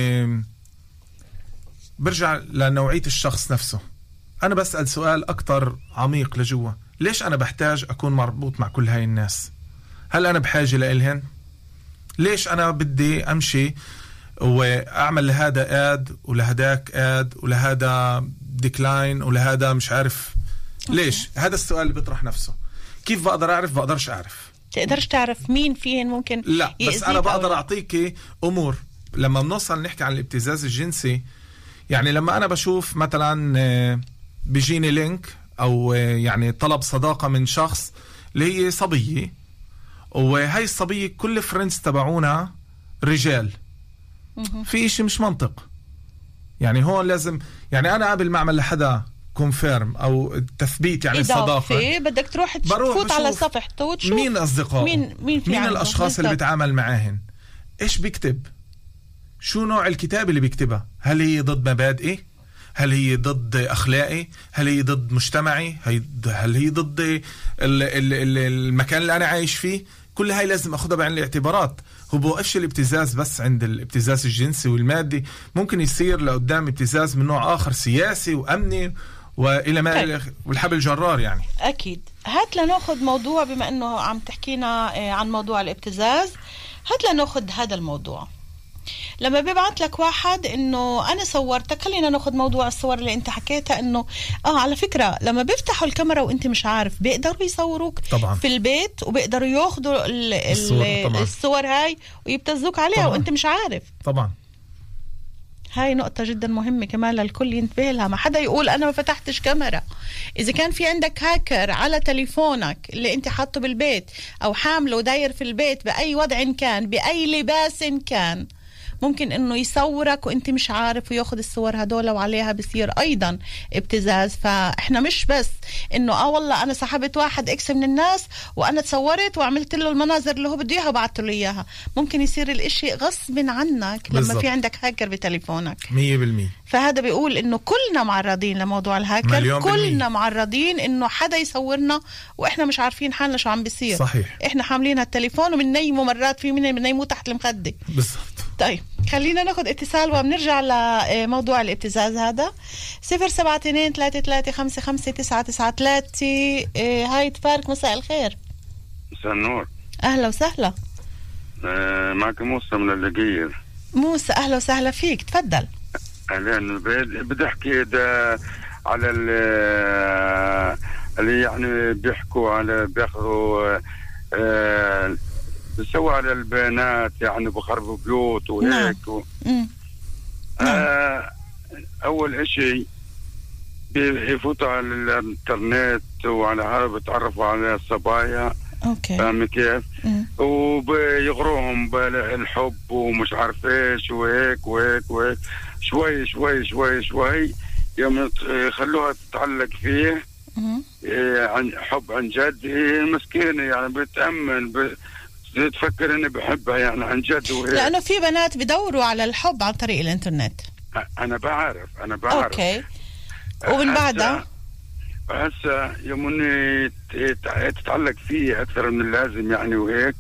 برجع لنوعيه الشخص نفسه. انا بسأل سؤال اكتر عميق لجوا، ليش انا بحتاج اكون مربوط مع كل هاي الناس؟ هل انا بحاجه لإلهن؟ ليش انا بدي امشي واعمل لهذا اد ولهداك اد ولهذا ديكلاين ولهذا مش عارف ليش؟ هذا السؤال اللي بيطرح نفسه. كيف بقدر اعرف؟ بقدرش اعرف. تقدرش تعرف مين فيهن ممكن لا، بس انا بقدر اعطيك امور. لما بنوصل نحكي عن الابتزاز الجنسي، يعني لما انا بشوف مثلا بيجيني لينك او يعني طلب صداقة من شخص اللي هي صبية، وهي الصبية كل فريندز تبعونا رجال، في اشي مش منطق. يعني هون لازم، يعني انا قبل ما اعمل لحدا كونفيرم او تثبيت يعني الصداقه بدك تروح تفوت على صفحته وتشوف مين اصدقائه، مين الاشخاص اللي بيتعامل معاهن، ايش بيكتب، شو نوع الكتاب اللي بيكتبها، هل هي ضد مبادئي، هل هي ضد اخلاقي، هل هي ضد مجتمعي، هل هي ضد المكان اللي انا عايش فيه. كل هاي لازم اخذها بعين الاعتبارات. هو بوقفش الابتزاز بس عند الابتزاز الجنسي والمادي، ممكن يصير لقدام ابتزاز من نوع اخر سياسي وامني والى ما والحبل جرار. يعني اكيد. هات لناخذ موضوع، بما انه عم تحكينا عن موضوع الابتزاز، هات لناخذ هذا الموضوع. لما بيبعت لك واحد انه انا صورتك، خلينا ناخذ موضوع الصور اللي انت حكيتها، انه على فكرة لما بيفتحوا الكاميرا وانت مش عارف بيقدروا يصوروك طبعا في البيت، وبيقدروا ياخذوا الصور هاي ويبتزوك عليها طبعا. وانت مش عارف طبعا. هاي نقطة جدا مهمة كمان للكل ينتبه لها. ما حدا يقول أنا ما فتحتش كاميرا. إذا كان في عندك هاكر على تليفونك اللي أنت حاطه بالبيت أو حامله وداير في البيت بأي وضع كان، بأي لباس كان، ممكن انه يصورك وانت مش عارف وياخد الصور هدول، وعليها بصير ايضا ابتزاز. فاحنا مش بس انه والله انا سحبت واحد اكس من الناس وانا تصورت وعملت له المناظر اللي هو بده اياها وبعثت له اياها، ممكن يصير الاشي غصب عنك لما بالزبط. في عندك هاكر بتليفونك 100%. فهذا بيقول انه كلنا معرضين لموضوع الهاكر، كلنا معرضين انه حدا يصورنا واحنا مش عارفين حالنا شو عم بيصير. صحيح. احنا حاملين هالتليفون ومنيمه، مرات في منيمه تحت المخدة. بالضبط. طيب خلينا ناخد اتصال وبنرجع لموضوع الابتزاز هذا. 072-3355-993. هاي تفارك، مساء الخير. مساء النور. أهلا وسهلا. معك موسى من اللقير. موسى أهلا وسهلا فيك، تفضل. أهلا. بدي أحكي ده على اللي يعني بياخذوا بيسووا على البيانات، يعني بخربوا بيوت وهيك. أول إشي بيفوتوا على الإنترنت وعلى هذا بيتعرفوا على الصبايا. أوكي. فاهم كيف؟ وبيغروهم بالحب ومش عارف إيش وهيك وهيك وهيك، شوي شوي شوي شوي يوم يخلوها تتعلق فيه. عن حب عن جد. هي مسكينة يعني بتأمن تفكر اني بحبها يعني عن جد. لانه في بنات بدوروا على الحب عن طريق الانترنت. انا بعرف. اوكي. ومن بعدها هسه يومني تتعلق فيه اكثر من اللازم يعني وهيك.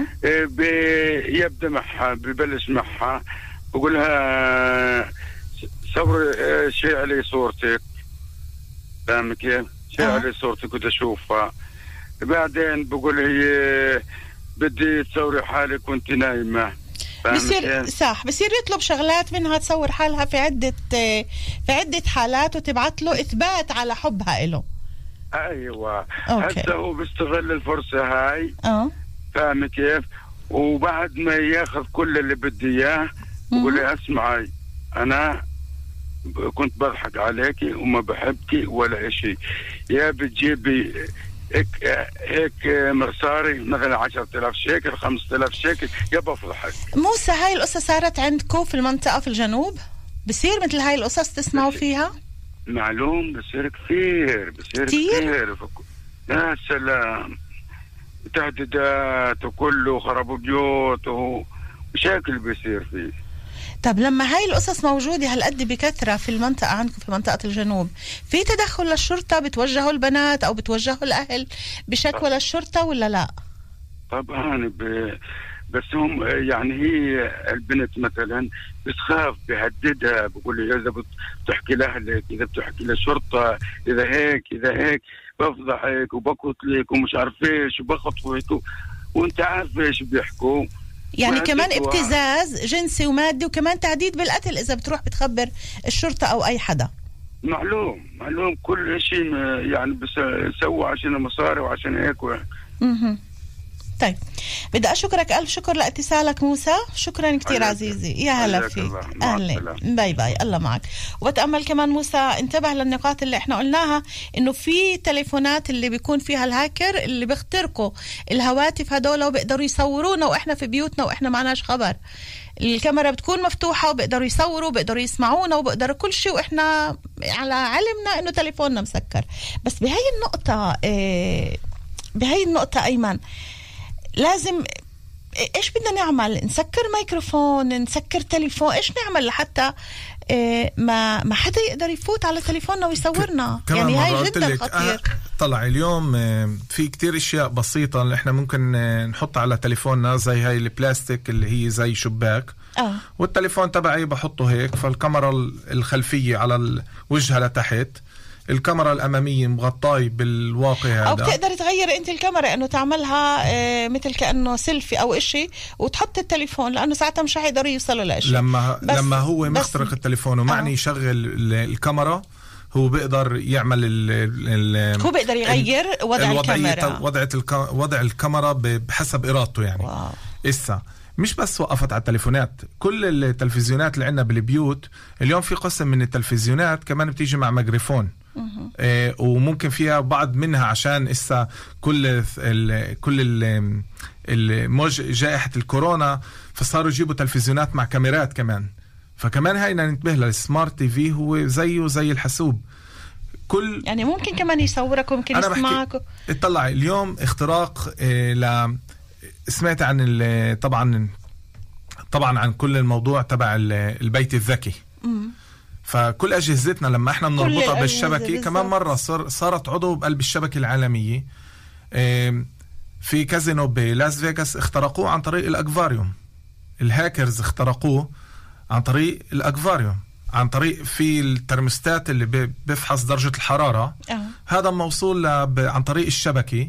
يبدا معها، ببلش معها بقولها صور شيء علي صورتك، فاهم كيف؟ شيء علي صورتك بدي اشوفها. بعدين بقول هي بدي تصوري حالك وانت نايمة. بصير صح، بصير يطلب شغلات منها تصور حالها في عدة حالات وتبعت له إثبات على حبها إله. أيوة. هسه هو بيستغل الفرصة هاي. فاهم كيف؟ وبعد ما ياخذ كل اللي بدي إياه بقول لي اسمعي، أنا كنت بضحك عليكي وما بحبكي ولا إشي، يا بتجيبي هيك مصاري مثلا 10,000 شيكل 5,000 شيكل، يا بفضحك. موسى، هاي القصة صارت عندكم في المنطقة في الجنوب؟ بصير مثل هاي القصص تسمعوا فيها؟ معلوم بصير كثير، بصير كثير. يا سلام، تهديدات وكله، خربوا بيوت ومشاكل بيصير فيه. طب لما هاي القصص موجودة هالقد بكثرة في المنطقة عندكم في منطقة الجنوب، في تدخل للشرطة؟ بتوجهوا البنات أو بتوجهوا الأهل بشكوى للشرطة ولا لا؟ طبعا بس هم يعني هي البنت مثلا بتخاف، بهددها، بقول لي إذا بتحكي لأهلك، إذا بتحكي للشرطة، إذا هيك بفضحك وبقتلك ومش عارف إيش وبخطفك وأنت عارف إيش بيحكوا. يعني كمان ابتزاز جنسي ومادي، وكمان تهديد بالقتل إذا بتروح بتخبر الشرطة أو أي حدا. معلوم كل شيء يعني بيسووا عشان المصاري وعشان هيك طيب بدي أشكرك ألف شكر لاتصالك موسى. شكرا كتير عزيزي. يا هلا فيك. أهلا. باي باي. الله معك. وبتأمل كمان موسى انتبه للنقاط اللي احنا قلناها انه في تليفونات اللي بيكون فيها الهاكر اللي بيخترقوا الهواتف هدول وبيقدروا يصورونا واحنا في بيوتنا واحنا معناش خبر. الكاميرا بتكون مفتوحة وبيقدروا يصوروا وبيقدروا يسمعونا وبيقدروا كل شيء واحنا على علمنا انه تليفوننا مسكر. بس بهاي النقطة أيمن لازم إيش بدنا نعمل؟ نسكر ميكروفون، نسكر تليفون، إيش نعمل لحتى ما حدا يقدر يفوت على تليفوننا ويصورنا؟ يعني هاي جدا خطير. طلع اليوم في كتير اشياء بسيطة اللي احنا ممكن نحط على تليفوننا، زي هاي البلاستيك اللي هي زي شباك والتليفون تبعي بحطه هيك، فالكاميرا الخلفية على وجهها لتحت، الكاميرا الأمامية مغطاي بالواقع هذا. أو بتقدر تغير أنت الكاميرا إنه تعملها مثل كأنه سيلفي أو إشي وتحط التليفون، لأنه ساعتها مش حيقدروا يوصلوا لإشي. لما هو مخترق التليفون ومعني يشغل الكاميرا، هو بيقدر يعمل هو بيقدر يغير وضع الكاميرا، وضع الكاميرا بحسب إرادته يعني. إسا مش بس وقفت على التليفونات، كل التلفزيونات اللي عندنا بالبيوت اليوم في قسم من التلفزيونات كمان بتيجي مع ميكروفون. وممكن فيها بعض منها عشان إسا كل جائحة الكورونا فصاروا يجيبوا تلفزيونات مع كاميرات كمان. فكمان هاينا ننتبه للسمارت تي في، هو زيه زي الحاسوب، يعني ممكن كمان يصورك وممكن يسمعك. اطلع اليوم اختراق سمعت عن طبعا عن كل الموضوع تبع البيت الذكي. فكل أجهزتنا لما احنا بنربطها بالشبكة كمان مرة صارت عضو بقلب الشبكة العالمية. في كازينو بلاس فيغاس اخترقوه عن طريق الأكفاريوم، الهاكرز اخترقوه عن طريق الأكفاريوم، عن طريق في الترمستات اللي بيفحص درجة الحرارة. هذا موصول عن طريق الشبكة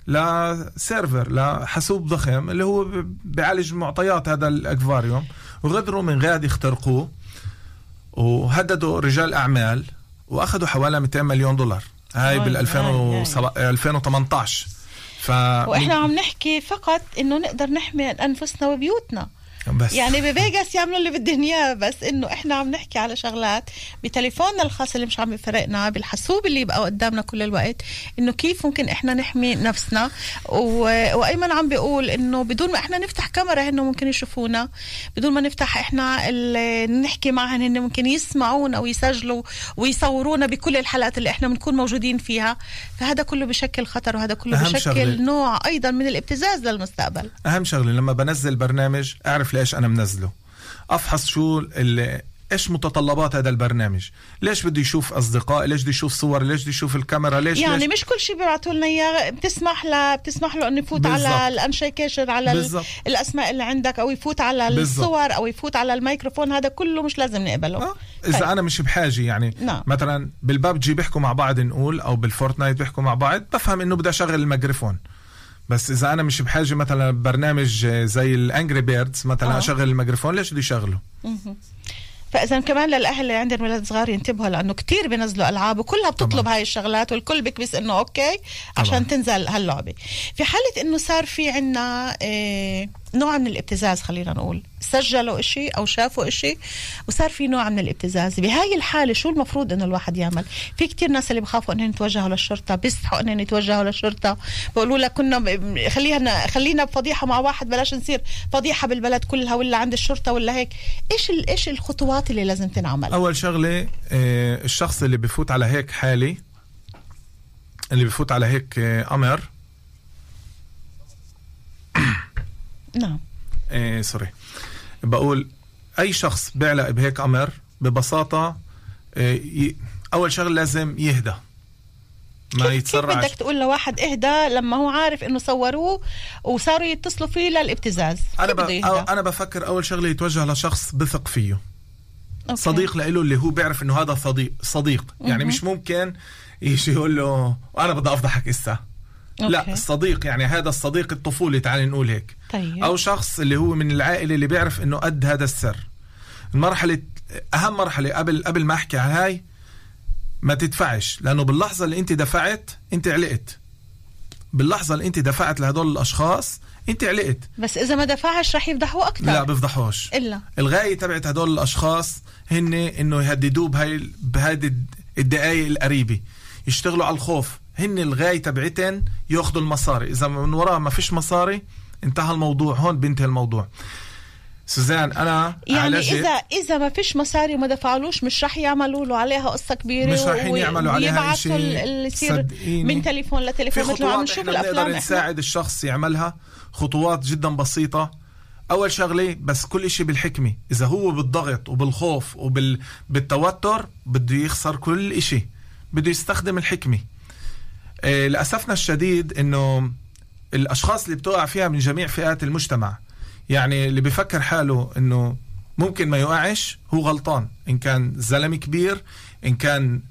لسيرفر لحاسوب ضخم اللي هو بيعالج معطيات هذا الأكفاريوم، وغدروا من غاد يخترقوه وهددوا رجال أعمال وأخذوا حوالي $200 مليون. هاي بال2018. وإحنا عم نحكي فقط إنه نقدر نحمي أنفسنا وبيوتنا بس. يعني بفيغاس يعملوا اللي بدهم اياه، بس انه احنا عم نحكي على شغلات بتليفوننا الخاص اللي مش عم يفرقنا، بالحاسوب اللي يبقى قدامنا كل الوقت، انه كيف ممكن احنا نحمي نفسنا. وايمن عم بيقول انه بدون ما احنا نفتح كاميرا هن ممكن يشوفونا، بدون ما نفتح احنا نحكي معهم هن ممكن يسمعونا ويسجلوا ويصورونا بكل الحلقات اللي احنا بنكون موجودين فيها. فهذا كله بشكل خطر، وهذا كله بشكل نوع ايضا من الابتزاز للمستقبل. اهم شغله لما بنزل برنامج اعرف ليش أنا منزله، أفحص شو إيش متطلبات هذا البرنامج، ليش بده يشوف أصدقاء، ليش بده يشوف صور، ليش بده يشوف الكاميرا، ليش يعني مش كل شيء بيبعتوا لنا إياه بتسمح له إنه يفوت بالزبط. على الأنشيكيشن على الأسماء اللي عندك، أو يفوت على الصور، أو يفوت على الميكروفون. هذا كله مش لازم نقبله. إذا أنا مش بحاجة يعني مثلا بالبابجي بيحكوا مع بعض نقول، أو بالفورتنايت بيحكوا مع بعض، بفهم إنه بدي أشغل الميكروفون. بس إذا أنا مش بحاجة مثلا برنامج زي الأنجري بيردز مثلا أشغل الميكروفون، ليش بدي شغله؟ فإذا كمان للأهل اللي عندهم ولاد صغار ينتبهوا، لأنه كتير بينزلوا ألعاب وكلها بتطلب هاي الشغلات، والكل بيكبس إنه أوكي عشان تنزل هاللعبة. في حالة إنه صار في عنا نوع من الابتزاز، خلينا نقول سجلوا إشي أو شافوا إشي وصار في نوع من الابتزاز، بهاي الحالة شو المفروض إنه الواحد يعمل؟ في كتير ناس اللي بخافوا إنهم يتوجهوا للشرطة، بيستحوا إنهم يتوجهوا للشرطة، بقولوا لك كنا خلينا بفضيحة مع واحد، بلاش نصير فضيحة بالبلد كلها ولا عند الشرطة ولا هيك. إيش الخطوات اللي لازم تنعمل؟ أول شغلة الشخص اللي بيفوت على هيك حالي، اللي بيفوت على هيك أمر نعم سوري، بقول أي شخص بيعلق بهيك أمر ببساطة أول شغل لازم يهدى، ما يتسرعش. كيف بدك تقول لواحد اهدى لما هو عارف إنه صوروه وصاروا يتصلوا فيه للابتزاز؟ أنا بفكر أول شغلة يتوجه لشخص بثق فيه، صديق لإله اللي هو بيعرف إنه هذا صديق. يعني مش ممكن يجي يقول له أنا بدي أفضحك إسا، لا، الصديق يعني هذا الصديق الطفولي، تعالي نقول هيك. طيب. أو شخص اللي هو من العائلة اللي بيعرف إنه قد هذا السر. المرحلة أهم مرحلة قبل ما أحكي عن هاي، ما تدفعش، لأنه باللحظة اللي أنت دفعت أنت علقت. باللحظة اللي انت دفعت لهدول الاشخاص انت علقت. بس اذا ما دفعش رح يفضحوا اكثر. لا بيفضحوش. الا الغاية تبعت هدول الاشخاص هن انه يهددوه بهذه الدقايق القريبة، يشتغلوا على الخوف. هن الغاية تبعتن ياخذوا المصاري، اذا من وراء ما فيش مصاري انتهى الموضوع، هون بينتهي الموضوع. سوزان انا يعني اذا ما فيش مصاري وما دفعلوش مش رح يعملوا له عليها قصه كبيره، مش رح يعملوا عليها شيء اللي يصير من تليفون لتليفون مثل ما عم نشوف بالافلام. نقدر نساعد الشخص يعملها خطوات جدا بسيطه. اول شغله بس كل شيء بالحكمه. اذا هو بالضغط وبالخوف وبالتوتر بده يخسر كل شيء، بده يستخدم الحكمه. للاسفنا الشديد انه الاشخاص اللي بتوقع فيها من جميع فئات المجتمع، يعني اللي بيفكر حاله انه ممكن ما يوقعش هو غلطان. ان كان زلمه كبير، ان كان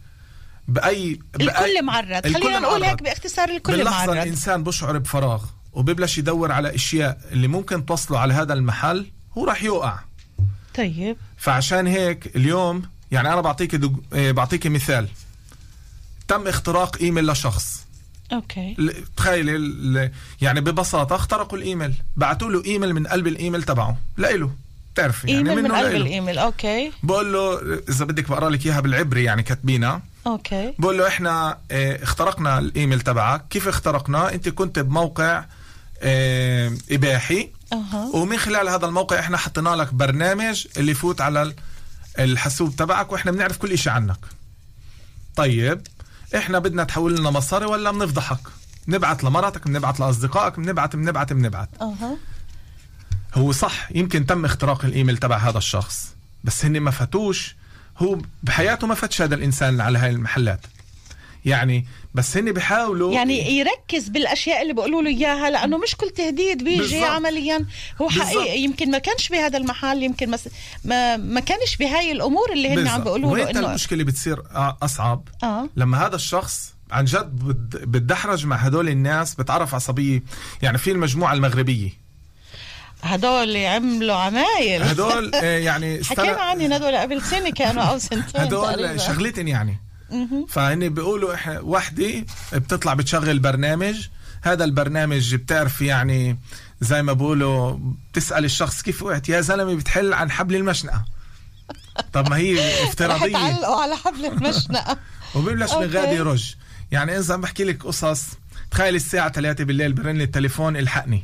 الكل معرض. خلينا نقول هيك باختصار، الكل معرض. باللحظه الانسان بشعر بفراغ وبيبلش يدور على اشياء اللي ممكن توصله على هذا المحل، هو راح يوقع. طيب فعشان هيك اليوم يعني انا بعطيك مثال. تم اختراق ايميل لشخص. اوكي. تخيل يعني ببساطه اخترقوا الايميل، بعتوا له ايميل من قلب الايميل تبعه لإله، بتعرفي يعني من قلب لإله. الايميل. اوكي. بقول له اذا بدك بقرا لك اياها بالعبري يعني كاتبينها. اوكي. بقول له احنا اخترقنا الايميل تبعك. كيف اخترقنا؟ انت كنت بموقع اباحي، ومن خلال هذا الموقع احنا حطينا لك برنامج اللي يفوت على الحاسوب تبعك، واحنا بنعرف كل شيء عنك. طيب احنا بدنا تحول لنا مصاري ولا بنفضحك؟ نبعت لمراتك، بنبعت لاصدقائك، بنبعت. هو صح يمكن تم اختراق الايميل تبع هذا الشخص، بس هن ما فتوش. هو بحياته ما فتش هذا الانسان على هاي المحلات يعني، بس هن بيحاولوا يعني يركز بالاشياء اللي بيقولوا له اياها، لانه مش كل تهديد بيجي بالزبط. عمليا هو حقيقي يمكن ما كانش بهذا المحل، يمكن ما كانش بهاي الامور اللي هن عم بيقولوا له. انه المشكله بتصير اصعب لما هذا الشخص عن جد بتدحرج مع هدول الناس، بتعرف عصبيه. يعني في المجموعه المغربيه هدول اللي عملوا عمايل، هدول يعني حكينا عنهم هدول قبل سنه كانوا او سنتين هدول شغلتين يعني. فهني بيقولوا احنا وحده بتطلع بتشغل برنامج، هذا البرنامج بتعرف يعني زي ما بيقولوا بتسأل الشخص كيف وقعت يا زلمه، بتحل عن حبل المشنقة. طب ما هي افتراضيه، تعلقوا على حبل المشنقة وبيبلش من غادي يرج. يعني اذا بحكي لك قصص، تخيل الساعه 3 بالليل برن التليفون الحقني.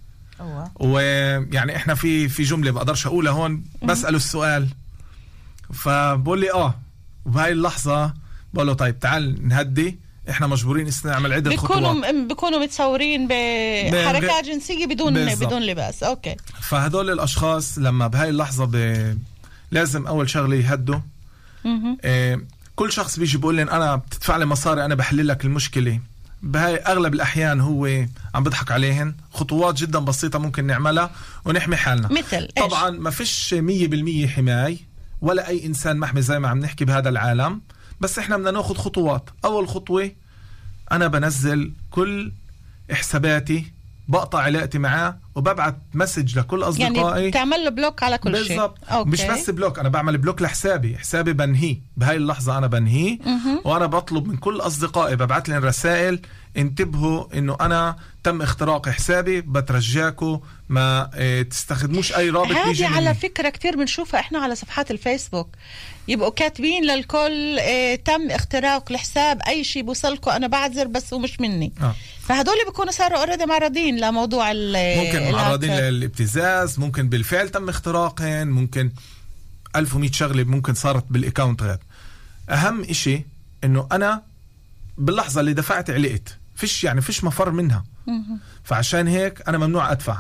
ويعني احنا في جمله بقدرش اقولها هون، بسأله السؤال فبقول لي وبهاي اللحظه بقول له طيب تعال نهدي، احنا مجبورين نعمل عدة خطوات. بيكونوا متصورين بحركات جنسية بدون لباس. اوكي. فهدول الاشخاص لما بهاي اللحظة لازم اول شغلة يهدوا. كل شخص بيجي بيقول لي انا بتدفع لي مصاري انا بحل لك المشكلة، بهاي اغلب الاحيان هو عم بضحك عليهن. خطوات جدا بسيطة ممكن نعملها ونحمي حالنا. مثل طبعا ما فيش 100% حماية، ولا اي انسان محمي زي ما عم نحكي بهذا العالم، بس احنا بدنا ناخذ خطوات. اول خطوة انا بنزل كل حساباتي، بقطع علاقتي معاه، وببعت مسج لكل اصدقائي. يعني تعمل له بلوك على كل شيء. بالضبط. مش بس بلوك، انا بعمل بلوك لحسابي بنهيه بهاي اللحظة، انا بنهيه. وانا بطلب من كل اصدقائي، ببعت لهم رسائل انتبهوا انه انا تم اختراق حسابي، بترجاكم ما تستخدموش اي رابط بيجي هذه على فكرة كتير بنشوفها احنا على صفحات الفيسبوك، يبقوا كاتبين للكل تم اختراق الحساب، اي شيء بوصلكم انا بعذر بس ومش مني. فهدول بيكونوا صاروا اوريدي معرضين لموضوع ممكن معرضين للابتزاز، ممكن بالفعل تم اختراقهم، ممكن 1100 شغلة ممكن صارت بالاكاونت غير. اهم اشي انه انا باللحظة اللي دفعت علقت، فيش مفر منها. فعشان هيك انا ممنوع ادفع.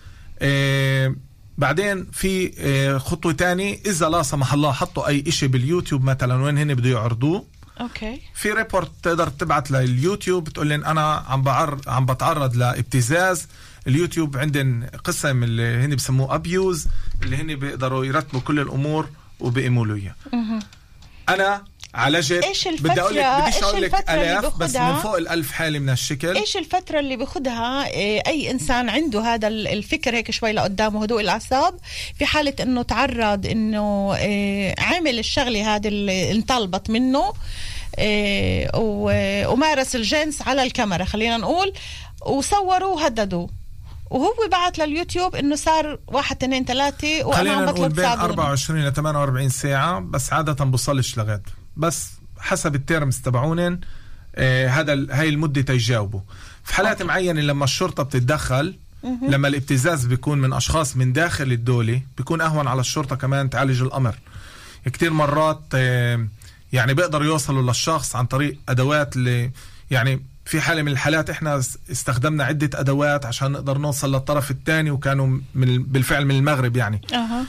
بعدين في خطوة تاني، اذا لا سمح الله حطوا اي اشي باليوتيوب مثلا وين هن بده يعرضوه، اوكي، في ريبورت تقدر تبعت لليوتيوب بتقول لن انا عم بتعرض لابتزاز. اليوتيوب عندن قسم اللي هن بسموه ابيوز، اللي هن بيقدروا يرتبوا كل الامور وبيقيموا له اياه. انا عالجت، بدي اقول لك الاف، بس من فوق 1000 حالة من هالشكل. ايش الفترة اللي بياخدها اي انسان عنده هذا الفكر هيك شوي لقدامه، هدوء الاعصاب، في حالة انه تعرض انه عامل الشغلة هذه اللي انطلبت منه، ومارس الجنس على الكاميرا خلينا نقول، وصوروا وهددوا، وهو بعت لليوتيوب انه صار 1 2 3 وانا عم بطلب بين 24 ل 48 ساعة، بس عادة بوصلش لغد، بس حسب التيرمز تبعونن هاي المدة تيجاوبوا. في حالات معينة لما الشرطة بتتدخل، لما الابتزاز بيكون من أشخاص من داخل الدولة، بيكون أهون على الشرطة كمان تعالج الأمر. كتير مرات يعني بيقدروا يوصلوا للشخص عن طريق أدوات يعني في حالة من الحالات احنا استخدمنا عدة أدوات عشان نقدر نوصل للطرف الثاني، وكانوا بالفعل من المغرب يعني.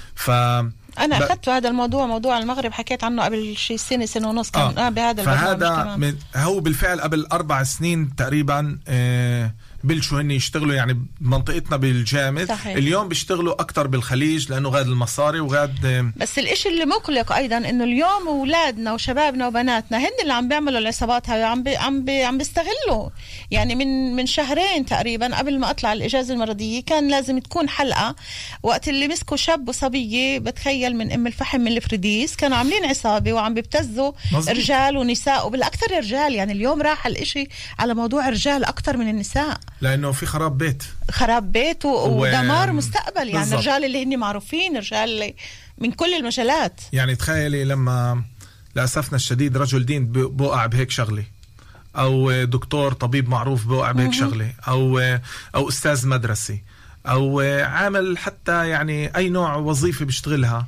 أنا أخذت هذا الموضوع، موضوع المغرب حكيت عنه قبل شيء سنة ونص كان بهذا فهذا هو بالفعل قبل 4 سنين تقريبا بلشوا هن يشتغلوا يعني بمنطقتنا بالجامد. صحيح. اليوم بيشتغلوا أكتر بالخليج لأنه غاد المصاري وغاد. بس الإشي اللي مقلق أيضا إنه اليوم أولادنا وشبابنا وبناتنا هن اللي عم بيعملوا العصابات هاي، عم بيستغلوا. يعني من شهرين تقريبا قبل ما أطلع الإجازة المرضية كان لازم تكون حلقة وقت اللي مسكوا شاب وصبية بتخيل من أم الفحم من الفريديس، كانوا عاملين عصابة وعم بيبتزوا رجال ونساء، وبالأكثر رجال. يعني اليوم راح الإشي على موضوع رجال أكتر من النساء، لأنه في خراب بيت ودمار مستقبل. يعني بالزبط. رجال اللي هني معروفين، رجال اللي من كل المجالات. يعني تخيلي لما لأسفنا الشديد رجل دين بوقع بهيك شغلة، أو دكتور طبيب معروف بوقع بهيك شغلة، أو أستاذ مدرسي، أو عامل حتى يعني أي نوع وظيفة بيشتغلها.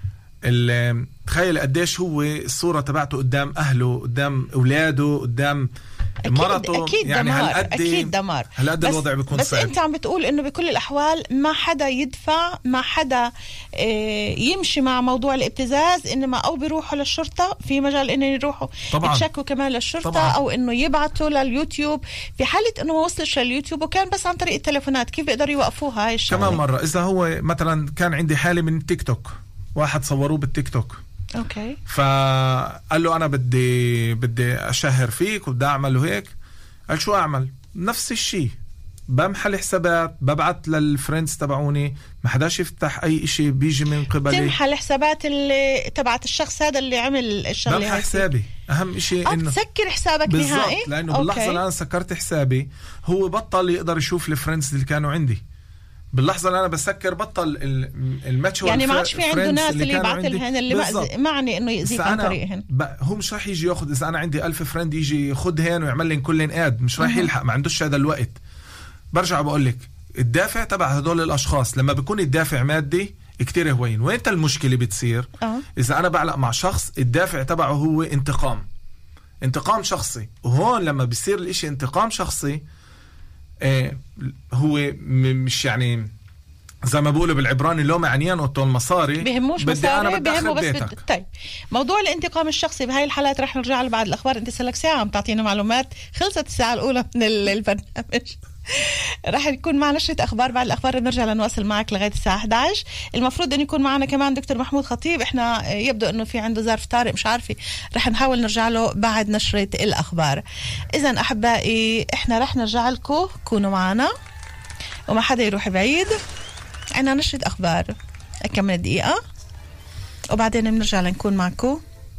تخيل قديش هو الصورة تبعته قدام أهله، قدام أولاده، قدام مرته. أكيد يعني دمار. أكيد دمار. هالقد الوضع بيكون بس صعب. أنت عم بتقول إنه بكل الأحوال ما حدا يدفع، ما حدا يمشي مع موضوع الابتزاز، إنما أو بيروحوا للشرطة، في مجال إنه يروحوا يتشكوا كمان للشرطة طبعاً. أو إنه يبعتوا لليوتيوب. في حالة إنه ما وصلش لليوتيوب وكان بس عن طريق التليفونات، كيف بيقدروا يوقفوها هاي الشغلة؟ كمان مرة إذا هو مثلا كان عندي حالة من التيك توك، واحد صوروه بالتيك توك، أوكي، فقال له أنا بدي أشهر فيك وبدي أعمل هيك. قال شو أعمل؟ نفس الشيء، بمحل حسابات، ببعت للفريندز تبعوني، ما حداش يفتح أي إشي بيجي من قبلي. تمحل حسابات اللي تبعت الشخص هذا اللي عمل الشغلة. بمحل حسابي، أهم إشي إنه تسكر حسابك نهائي، لأنه باللحظة اللي أنا سكرت حسابي هو بطل يقدر يشوف الفريندز اللي كانوا عندي. باللحظة اللي أنا بسكر بطل الماتش، يعني ما عادش في عنده ناس اللي يبعث لهن اللي معني إنه يأذيك عن طريقهن. هو مش راح يجي ياخد، إذا أنا عندي 1000 فريند يجي ياخدهن ويعمل لي كلن آد، مش راح يلحق، ما عندوش هذا الوقت. برجع بقول لك الدافع تبع هدول الأشخاص لما بيكون الدافع مادي كتير هوين. وين المشكلة بتصير؟ إذا أنا بعلق مع شخص الدافع تبعه هو انتقام شخصي، وهون لما بيصير الاشي انتقام شخصي هو مش يعني زي ما بقولوا بالعبراني لو معنيان وطول مصاري، بهموش مصاري، بهمه بس طيب موضوع الانتقام الشخصي بهاي الحالات رح نرجع له بعد الأخبار. انت سلك ساعة عم تعطينا معلومات، خلصت الساعة الأولى من البرنامج. راح يكون معنا نشرة أخبار، بعد الأخبار بنرجع لنواصل معك لغاية الساعة 11. المفروض أن يكون معنا كمان دكتور محمود خطيب، إحنا يبدو أنه في عنده ظرف طارئ مش عارفة، راح نحاول نرجع له بعد نشرة الأخبار. إذن أحبائي إحنا راح نرجع لكم، كونوا معنا وما حدا يروح بعيد. عنا نشرة أخبار كم من دقيقة وبعدين بنرجع لنكون معكم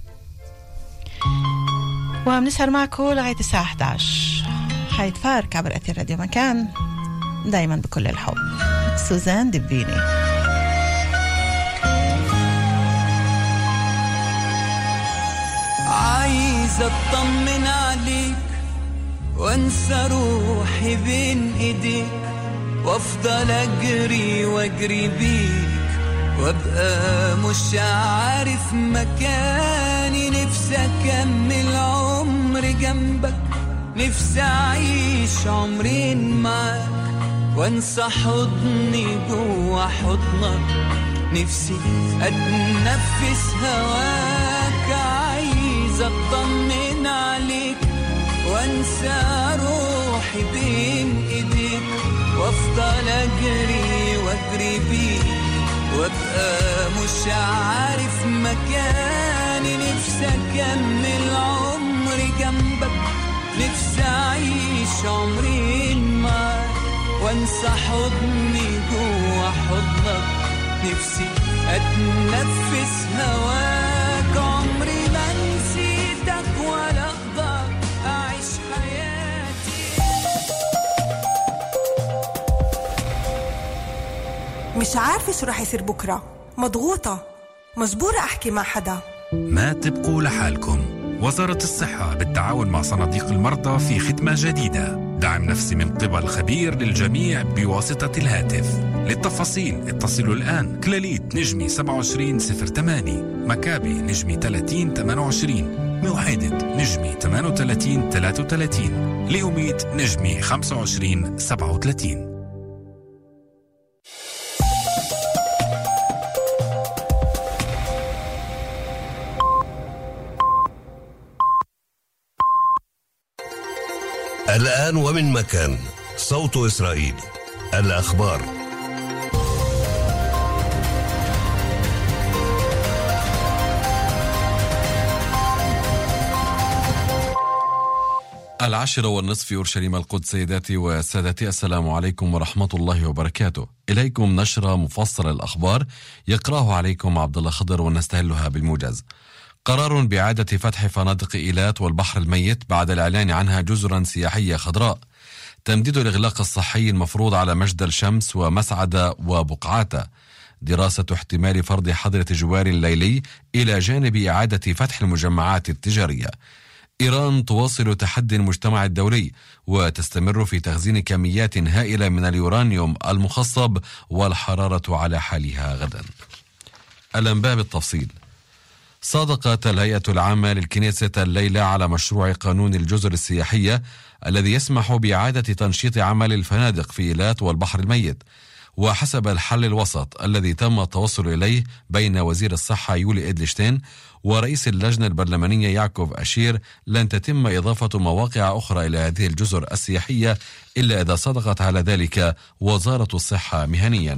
وبنسهر معكم لغاية الساعة 11. حيد فارك عبر أثير راديو مكان، دايما بكل الحب. سوزان دبيني. عايز اطمن عليك وانسى روحي بين ايديك، وافضل اجري واجري بيك وابقى مش عارف مكاني. نفسي اكمل عمري جنبك، نفسي اعيش عمرين معاك وانسى حضني جوا حضنك. نفسي اتنفس هواك، عايز اطمن عليك وانسى روحي بين ايديك، وافضل اجري واجري بيك وابقى مش عارف مكاني. نفسي اكمل عمري جنبك، نفسي اعيش عمرين معاك وانسى حضني جوا حضنك. نفسي اتنفس هواك، عمري ما نسيتك ولا مش عارفة شو رح يصير بكرة، مضغوطة، مجبورة أحكي مع حدا. ما تبقوا لحالكم. وزارة الصحة بالتعاون مع صناديق المرضى في خدمة جديدة، دعم نفسي من قبل خبير للجميع بواسطة الهاتف. للتفاصيل اتصلوا الآن كلاليت نجمي 2708، مكابي نجمي 3028، موحدة نجمي 3833، ليوميت نجمي 2537. الآن ومن مكان، صوت إسرائيل، الأخبار. العاشرة والنصف أورشليم القدس. سيداتي وسادتي، السلام عليكم ورحمة الله وبركاته. إليكم نشرة مفصلة الأخبار يقرأه عليكم عبد الله خضر ونستهلها بالموجز. قرار بإعادة فتح فنادق إيلات والبحر الميت بعد الإعلان عنها جزرا سياحية خضراء. تمديد الإغلاق الصحي المفروض على مجد الشمس ومسعدة وبقعاتة. دراسة احتمال فرض حظر تجوال ليلي إلى جانب إعادة فتح المجمعات التجارية. إيران تواصل تحدي المجتمع الدولي وتستمر في تخزين كميات هائلة من اليورانيوم المخصب والحرارة على حالها غدا. الأنباء بالتفصيل. صادقت الهيئة العامة للكنيسة الليلة على مشروع قانون الجزر السياحية الذي يسمح بإعادة تنشيط عمل الفنادق في إيلات والبحر الميت. وحسب الحل الوسط الذي تم التوصل إليه بين وزير الصحة يولي إدلشتين ورئيس اللجنة البرلمانية يعقوب أشير، لن تتم إضافة مواقع أخرى إلى هذه الجزر السياحية إلا إذا صدقت على ذلك وزارة الصحة مهنيا.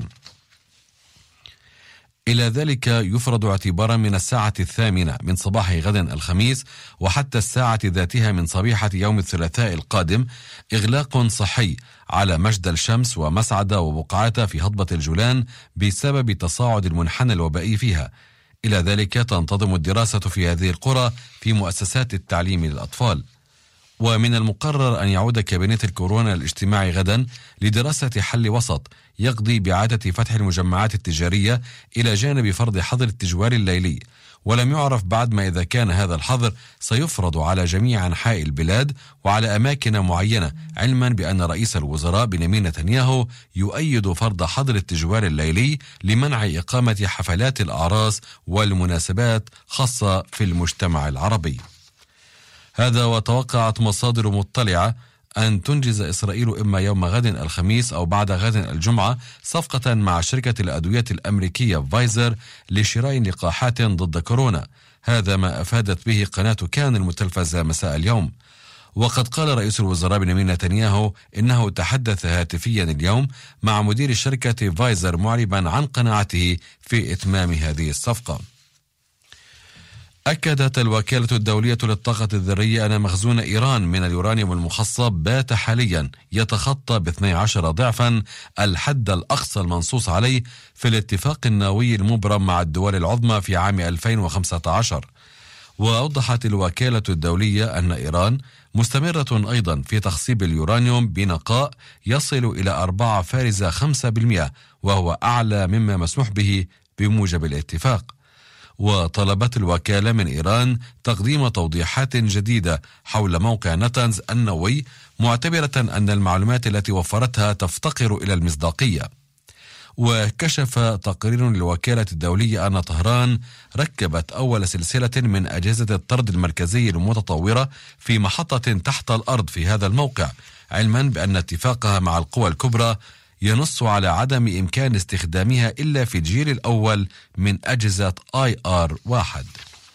إلى ذلك يفرض اعتبارا من الساعة 8 من صباح غد الخميس وحتى الساعة ذاتها من صبيحة يوم الثلاثاء القادم إغلاق صحي على مجد الشمس ومسعدة وبقعاتة في هضبة الجولان بسبب تصاعد المنحنى الوبائي فيها. إلى ذلك تنتظم الدراسة في هذه القرى في مؤسسات التعليم للأطفال. ومن المقرر أن يعود كابينت الكورونا الاجتماعي غدا لدراسة حل وسط يقضي بإعادة فتح المجمعات التجارية إلى جانب فرض حظر التجوال الليلي. ولم يعرف بعد ما إذا كان هذا الحظر سيفرض على جميع أنحاء البلاد وعلى أماكن معينة، علما بأن رئيس الوزراء بنيامين نتنياهو يؤيد فرض حظر التجوال الليلي لمنع إقامة حفلات الأعراس والمناسبات خاصة في المجتمع العربي. هذا وتوقعت مصادر مطلعة أن تنجز إسرائيل إما يوم غد الخميس أو بعد غد الجمعة صفقة مع شركة الأدوية الأمريكية فايزر لشراء لقاحات ضد كورونا. هذا ما أفادت به قناة كان المتلفزة مساء اليوم. وقد قال رئيس الوزراء بنيامين نتنياهو إنه تحدث هاتفيا اليوم مع مدير شركة فايزر معربا عن قناعته في إتمام هذه الصفقة. أكدت الوكالة الدولية للطاقة الذرية أن مخزون إيران من اليورانيوم المخصب بات حاليا يتخطى ب12 ضعفا الحد الأقصى المنصوص عليه في الاتفاق النووي المبرم مع الدول العظمى في عام 2015. وأوضحت الوكالة الدولية أن إيران مستمرة أيضا في تخصيب اليورانيوم بنقاء يصل إلى 4.5%، وهو أعلى مما مسموح به بموجب الاتفاق. وطلبت الوكالة من إيران تقديم توضيحات جديدة حول موقع نتنز النووي، معتبرة أن المعلومات التي وفرتها تفتقر إلى المصداقية. وكشف تقرير للوكالة الدولية أن طهران ركبت أول سلسلة من أجهزة الطرد المركزي المتطورة في محطة تحت الأرض في هذا الموقع، علما بأن اتفاقها مع القوى الكبرى ينص على عدم إمكان استخدامها إلا في الجيل الأول من أجهزة IR-1.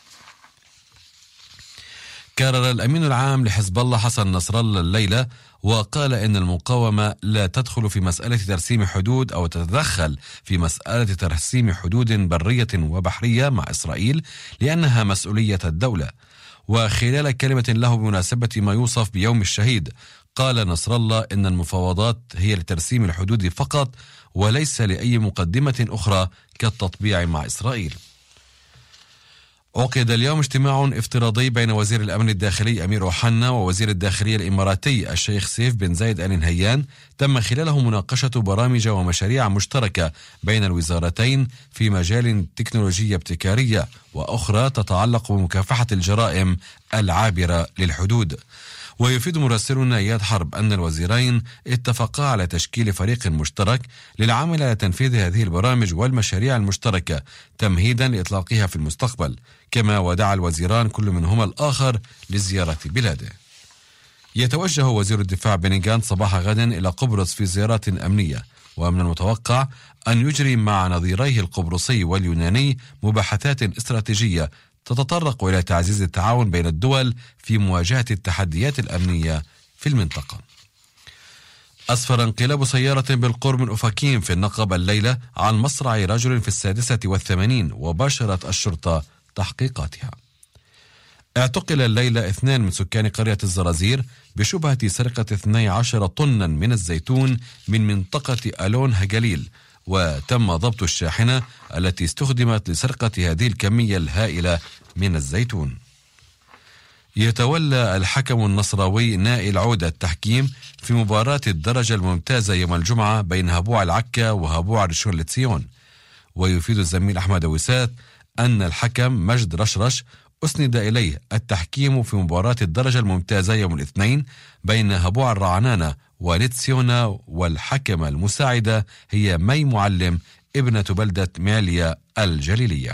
كرر الأمين العام لحزب الله حسن نصر الله الليلة وقال إن المقاومة لا تدخل في مسألة ترسيم حدود أو تتدخل في مسألة ترسيم حدود برية وبحرية مع إسرائيل لأنها مسؤولية الدولة. وخلال كلمة له بمناسبة ما يوصف بيوم الشهيد، قال نصر الله إن المفاوضات هي لترسيم الحدود فقط وليس لأي مقدمة أخرى كالتطبيع مع إسرائيل. عقد اليوم اجتماع افتراضي بين وزير الأمن الداخلي أمير أوحنا ووزير الداخلية الإماراتي الشيخ سيف بن زايد آل نهيان، تم خلاله مناقشة برامج ومشاريع مشتركة بين الوزارتين في مجال تكنولوجيا ابتكارية وأخرى تتعلق بمكافحة الجرائم العابرة للحدود. ويفيد مراسلنا إياد حرب أن الوزيرين اتفقا على تشكيل فريق مشترك للعمل على تنفيذ هذه البرامج والمشاريع المشتركة تمهيدا لإطلاقها في المستقبل، كما ودع الوزيران كل منهما الآخر لزيارة بلاده. يتوجه وزير الدفاع بني غانتس صباح غد إلى قبرص في زيارات أمنية، ومن المتوقع أن يجري مع نظيريه القبرصي واليوناني مباحثات استراتيجية تتطرق إلى تعزيز التعاون بين الدول في مواجهة التحديات الأمنية في المنطقة. أسفر انقلاب سيارة بالقرب من أوفاكيم في النقب الليلة عن مصرع رجل في 86 وباشرت الشرطة تحقيقاتها. اعتقل الليلة 2 من سكان قرية الزرازير بشبهة سرقة 12 طنا من الزيتون من منطقة ألون هجليل، وتم ضبط الشاحنة التي استخدمت لسرقة هذه الكمية الهائلة من الزيتون. يتولى الحكم النصراوي نائل عودة التحكيم في مباراة الدرجة الممتازة يوم الجمعة بين هبوع العكا وهبوع ريشون لتسيون. ويفيد الزميل أحمد وسات أن الحكم مجد رشرش أسند إليه التحكيم في مباراة الدرجة الممتازة يوم الاثنين بين هبوع الرعنانة ولتسيونا، والحكمة المساعدة هي مي معلم ابنة بلدة ماليا الجليلية.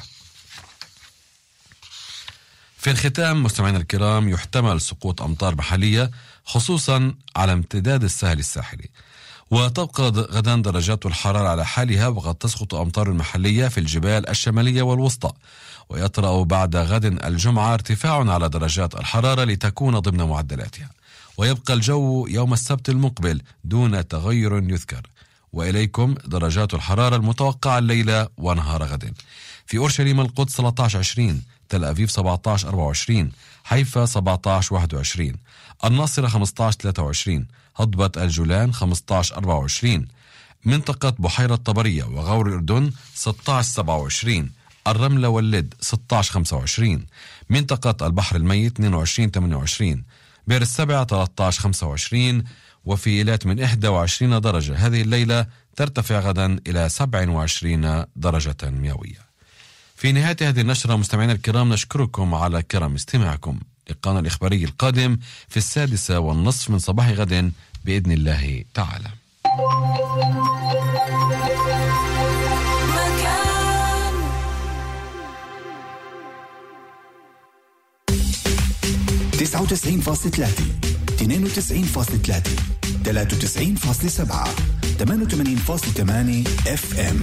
في الختام مستمعينا الكرام، يحتمل سقوط أمطار محلية خصوصا على امتداد الساحل الساحلي، وتبقى غدا درجات الحرارة على حالها، وقد تسقط أمطار محلية في الجبال الشمالية والوسطى. ويطرأ بعد غد الجمعة ارتفاع على درجات الحرارة لتكون ضمن معدلاتها، ويبقى الجو يوم السبت المقبل دون تغير يذكر. وإليكم درجات الحرارة المتوقعة الليلة ونهار غد: في أورشليم القدس 13-20، تل أبيب 17-24، حيفا 17-21، الناصرة 15-23، هضبة الجولان 15-24، منطقة بحيرة طبرية وغور الأردن 16-27، الرملة واللد 16-25، منطقة البحر الميت 22-28، بئر السبع 13-25، وفي إيلات من 21 درجة. هذه الليلة ترتفع غدا إلى 27 درجة مئوية. في نهاية هذه النشرة مستمعينا الكرام نشكركم على كرم استماعكم. لقاءنا الإخباري القادم في 6:30 من صباح غد بإذن الله تعالى. مكان 99.3 92.3 93.7 88.8 FM.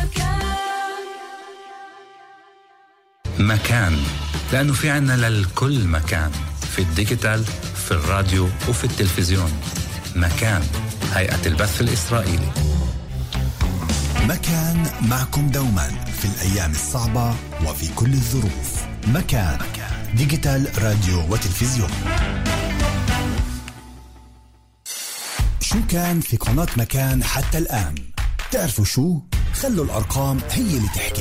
مكان، لأنه في عنا للكل مكان، في الديجيتال، في الراديو وفي التلفزيون. مكان، هيئة البث الإسرائيلي. مكان معكم دوما في الأيام الصعبة وفي كل الظروف. مكان ديجيتال راديو وتلفزيون. شو كان في قناة مكان حتى الآن؟ تعرفوا شو؟ خلوا الأرقام هي اللي تحكي.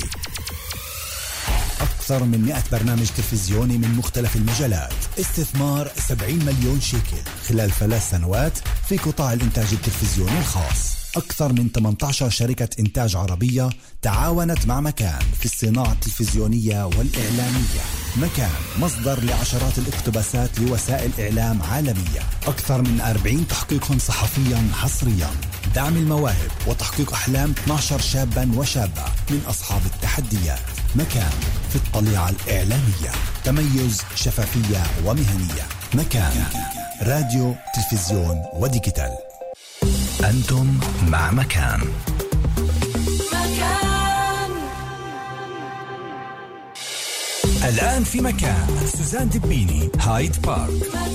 أكثر من 100 برنامج تلفزيوني من مختلف المجالات، استثمار 70 مليون شيكل خلال 3 سنوات في قطاع الإنتاج التلفزيوني الخاص. أكثر من 18 شركة إنتاج عربية تعاونت مع مكان في الصناعة التلفزيونية والإعلامية. مكان مصدر لعشرات الاقتباسات لوسائل إعلام عالمية. أكثر من 40 تحقيق صحفيا حصريا. دعم المواهب وتحقيق أحلام 12 شابا وشابة من أصحاب التحديات. مكان في الطليعة الإعلامية، تميز، شفافية ومهنية. مكان راديو، تلفزيون وديجيتال. أنتم مع مكان. الآن في مكان سوزان دبيني، هايد بارك.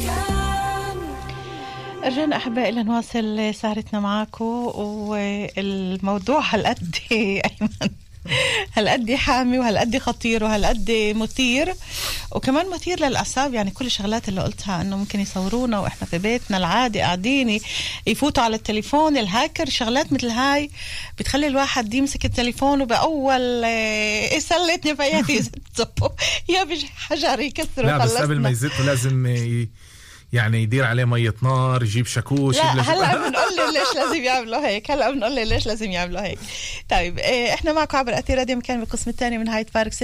رجعنا أحبائي لنواصل سهرتنا معاكم، والموضوع هالقد أيمن هالقد حامي وهالقد خطير وهالقد مثير، وكمان مثير للأعصاب. يعني كل الشغلات اللي قلتها انه ممكن يصورونا واحنا في بيتنا العادي قاعدين، يفوتوا على التليفون، الهاكر، شغلات مثل هاي بتخلي الواحد يمسك التليفون وبأول سلتني فياتي يزته يا بحجر يكسر. لا بس قبل ما يزته لازم يعني يدير عليه مية نار، يجيب شاكوش. لا هلا بنقول له ليش لازم يعملوا هيك. طيب احنا معكم عبر أثير راديو مكان بالقسم الثاني من هايد بارك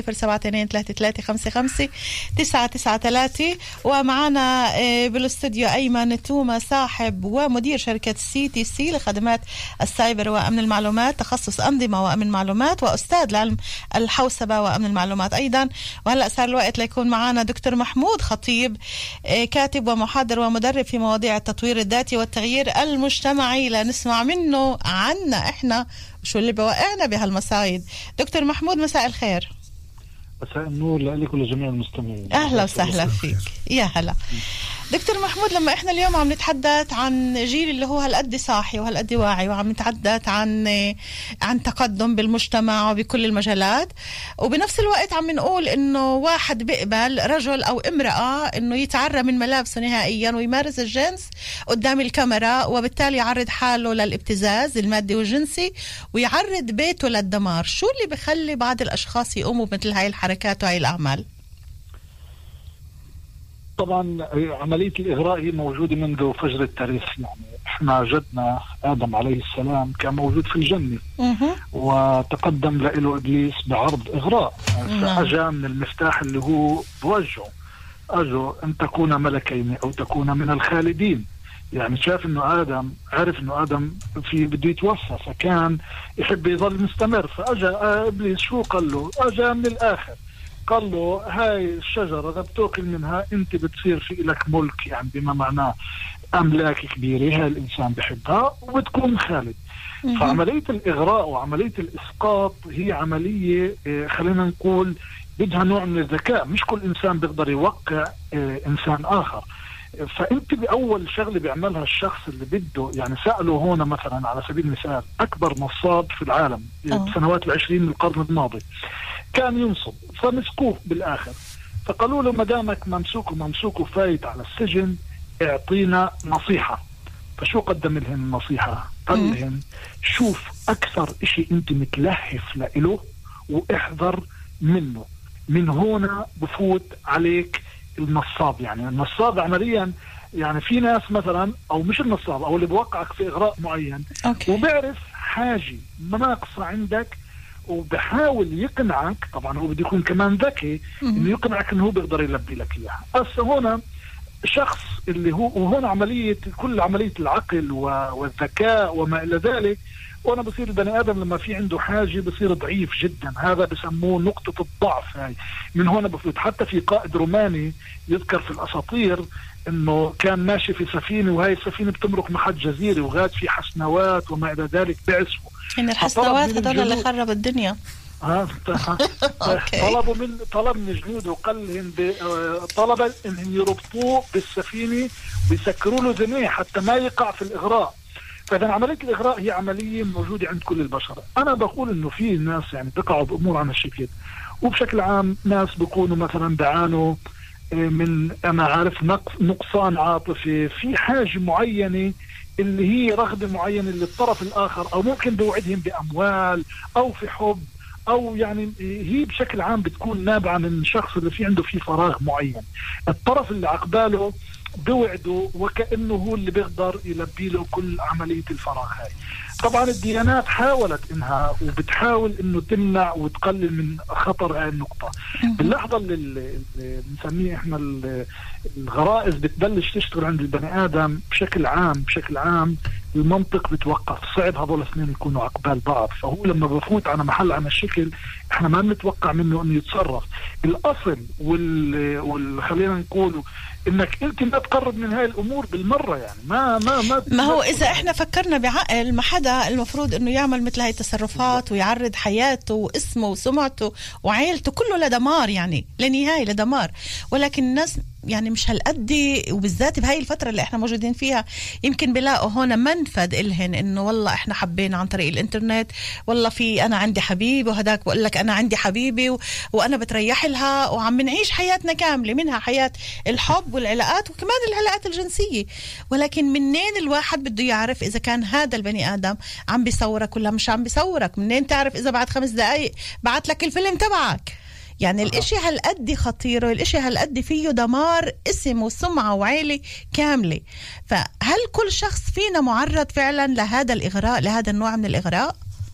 072-3355-993. ومعنا بالاستوديو أيمن توما، صاحب ومدير شركة CTC لخدمات السايبر وأمن المعلومات، تخصص أنظمة وأمن معلومات، وأستاذ لعلم الحوسبة وأمن المعلومات أيضا. وهلأ صار الوقت ليكون معنا دكتور محمود خطيب، كاتب ومحاضر ومدرب في مواضيع التطوير الذاتي والتغيير المجتمعي، لنسمع منه عنا احنا شو اللي بوقعنا بهالمصايد. دكتور محمود مساء الخير. مساء النور لك ولجميع المستمعين. اهلا وسهلا فيك. يا هلا دكتور محمود، لما احنا اليوم عم نتحدث عن جيل اللي هو هالقد صاحي وهالقد واعي، وعم نتحدث عن تقدم بالمجتمع وبكل المجالات، وبنفس الوقت عم نقول انه واحد بيقبل رجل او امرأة انه يتعرى من ملابسه نهائيا ويمارس الجنس قدام الكاميرا، وبالتالي يعرض حاله للابتزاز المادي والجنسي ويعرض بيته للدمار. شو اللي بخلي بعض الاشخاص يقوموا بمثل هاي الحركات وهاي الاعمال؟ طبعا عملية الإغراء هي موجودة منذ فجر التاريخ. يعني احنا جدنا آدم عليه السلام كان موجود في الجنة، وتقدم له إبليس بعرض إغراء، فأجا من المفتاح اللي هو بوجهه، أجو أن تكون ملكين أو تكون من الخالدين. يعني شاف إنه آدم، عرف إنه آدم بده يتوفى، فكان يحب يظل مستمر، فأجا إبليس شو قال له؟ أجا من الآخر قال له هاي الشجرة إذا بتأكل منها أنت بتصير في لك ملك، يعني بما معناه أملاك كبيرة هاي الإنسان بحبها وبتكون خالد. فعملية الإغراء وعملية الإسقاط هي عملية خلينا نقول بدها نوع من الذكاء، مش كل إنسان بيقدر يوقع إنسان آخر. فأنت بأول شغلة بيعملها الشخص اللي بده، يعني سألوا هنا مثلا على سبيل المثال أكبر نصاب في العالم بسنوات العشرين من القرن الماضي كان ينصب، فمسكوه بالآخر، فقالوا له مدامك ممسوك وفايت على السجن اعطينا نصيحة. فشو قدم لهم النصيحة؟ قال لهم شوف أكثر إشي أنت متلهف لإله واحذر منه، من هنا بفوت عليك النصاب. يعني النصاب عمليا يعني في ناس مثلا، أو مش النصاب، أو اللي بوقعك في إغراء معين وبيعرف حاجة ناقصة عندك وبحاول يقنعك، طبعا هو بده يكون كمان ذكي انه يقنعك انه هو بيقدر يلبي لك اياها. بس هنا شخص اللي هو، وهنا كل عملية العقل والذكاء وما الى ذلك، وانا بصير البني ادم لما في عنده حاجة بصير ضعيف جدا، هذا بسموه نقطة الضعف. هاي من هنا بفوت. حتى في قائد روماني يذكر في الاساطير انه كان ماشي في سفينة، وهي السفينة بتمرق محل جزيرة وغاد في حسنوات وما الى ذلك بعزفوا. إن الحسنوات هذول اللي خرب الدنيا. طلب من الجنود وقال لهم طلب انهم يربطوه بالسفينة ويسكروا له ذنيه حتى ما يقع في الإغراء. فإذا عملية الإغراء هي عملية موجودة عند كل البشر. أنا بقول إنه في ناس يعني بقعوا بأمور عن الشكل، وبشكل عام ناس بيكونوا مثلا بعانوا من أنا عارف نقصان عاطفي في حاجة معينة اللي هي رغبة معينة للطرف الآخر، أو ممكن بوعدهم بأموال أو في حب، أو يعني هي بشكل عام بتكون نابعة من شخص اللي في عنده فيه فراغ معين، الطرف اللي عقباله بوعده وكأنه هو اللي بيقدر يلبي له كل عملية الفراغ هاي. طبعا الديانات حاولت انها وبتحاول انه تمنع وتقلل من خطر هاي النقطة. باللحظة اللي بنسميه احنا الغرائز بتبلش تشتغل عند البني ادم بشكل عام المنطق بتوقف، صعب هذول الاثنين يكونوا عقبال بعض. فهو لما بفوت على محل عن الشكل احنا ما بنتوقع منه انه يتصرف. الاصل خلينا نقوله انك انت ما تقرب من هاي الامور بالمره. يعني ما هو اذا احنا فكرنا بعقل، ما حدا المفروض انه يعمل مثل هاي التصرفات ويعرض حياته واسمه وسمعته وعائلته كله لدمار، يعني لنهاية لدمار. ولكن الناس يعني مش هالقد، وبالذات بهاي الفترة اللي احنا موجودين فيها يمكن بلاقوا هنا منفذ إلهن إنه والله احنا حبينا عن طريق الإنترنت، والله في أنا عندي حبيبي وهداك بقول لك أنا عندي حبيبي وأنا بتريح لها، وعم نعيش حياتنا كاملة، منها حياة الحب والعلاقات وكمان العلاقات الجنسية. ولكن منين الواحد بده يعرف إذا كان هذا البني آدم عم بيصورك ولا مش عم بيصورك؟ منين تعرف إذا بعد 5 دقايق بعت لك الفيلم تبعك؟ يعني الاشي هالقد خطير، والاشي هالقد فيه دمار اسم وسمعة وعيلة كاملة. فهل كل شخص فينا معرض فعلا لهذا الإغراء، لهذا النوع من الإغراء؟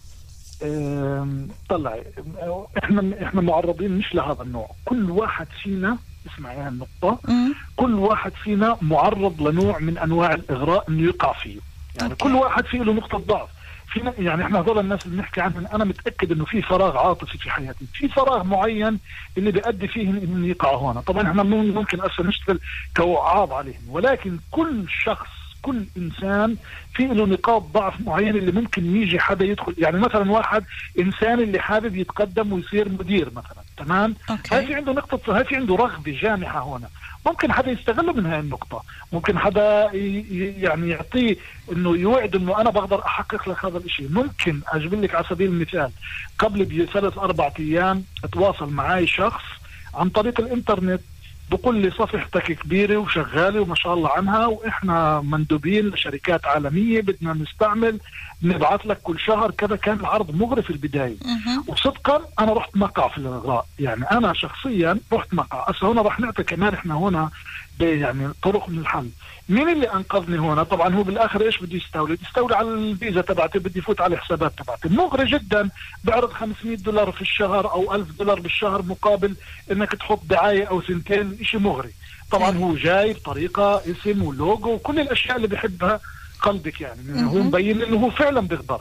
طلع احنا معرضين مش لهذا النوع. كل واحد فينا، اسمعي هالنقطة، كل واحد فينا معرض لنوع من انواع الإغراء انه يقع فيه. يعني كل واحد فيه له نقطة ضعف. يعني احنا هذول الناس اللي بنحكي عنهم، انا متاكد انه في فراغ عاطفي في حياتي، في فراغ معين اللي بيؤدي فيه انه يقعوا هنا. طبعا احنا ممكن اصلا نشتغل كوعاظ عليهم، ولكن كل شخص، كل انسان في له نقاط ضعف معينه اللي ممكن يجي حدا يدخل. يعني مثلا واحد انسان اللي حابب يتقدم ويصير مدير مثلا، تمام، هاي في عنده نقطه، هاي في عنده رغبه جامحه هنا، ممكن حدا يستغله من هاي النقطة، ممكن حدا يعني يعطيه انه يوعد انه انا بقدر احقق لك هذا الاشي. ممكن اجيب لك على سبيل المثال، قبل 3-4 ايام اتواصل معي شخص عن طريق الانترنت، بقول لي صفحتك كبيرة وشغالة وما شاء الله عنها، واحنا مندوبين لشركات عالمية بدنا نستعمل، نبعث لك كل شهر كذا. كان العرض مغري في البداية، وصدقا انا رحت مقع في الإغراء. يعني انا شخصيا رحت مقع. هنا رح نعطي كمان احنا هنا يعني طرق من الحل. مين اللي انقذني هنا؟ طبعا هو بالاخر ايش بده يستولي على الفيزا تبعتي، بده يفوت على الحسابات تبعتي، مغري جدا، بعرض $500 في الشهر او $1000 بالشهر مقابل انك تحط دعاية او 2. اشي مغري. طبعا هو جاي بطريقة اسم ولوجو وكل الاشياء اللي بحبها قلبك، يعني هو مبين انه هو فعلا بيقدر.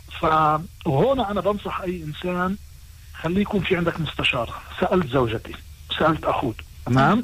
فهنا انا بنصح اي انسان، خليه يكون في عندك مستشار. سألت زوجتي، سألت اخوي، تمام.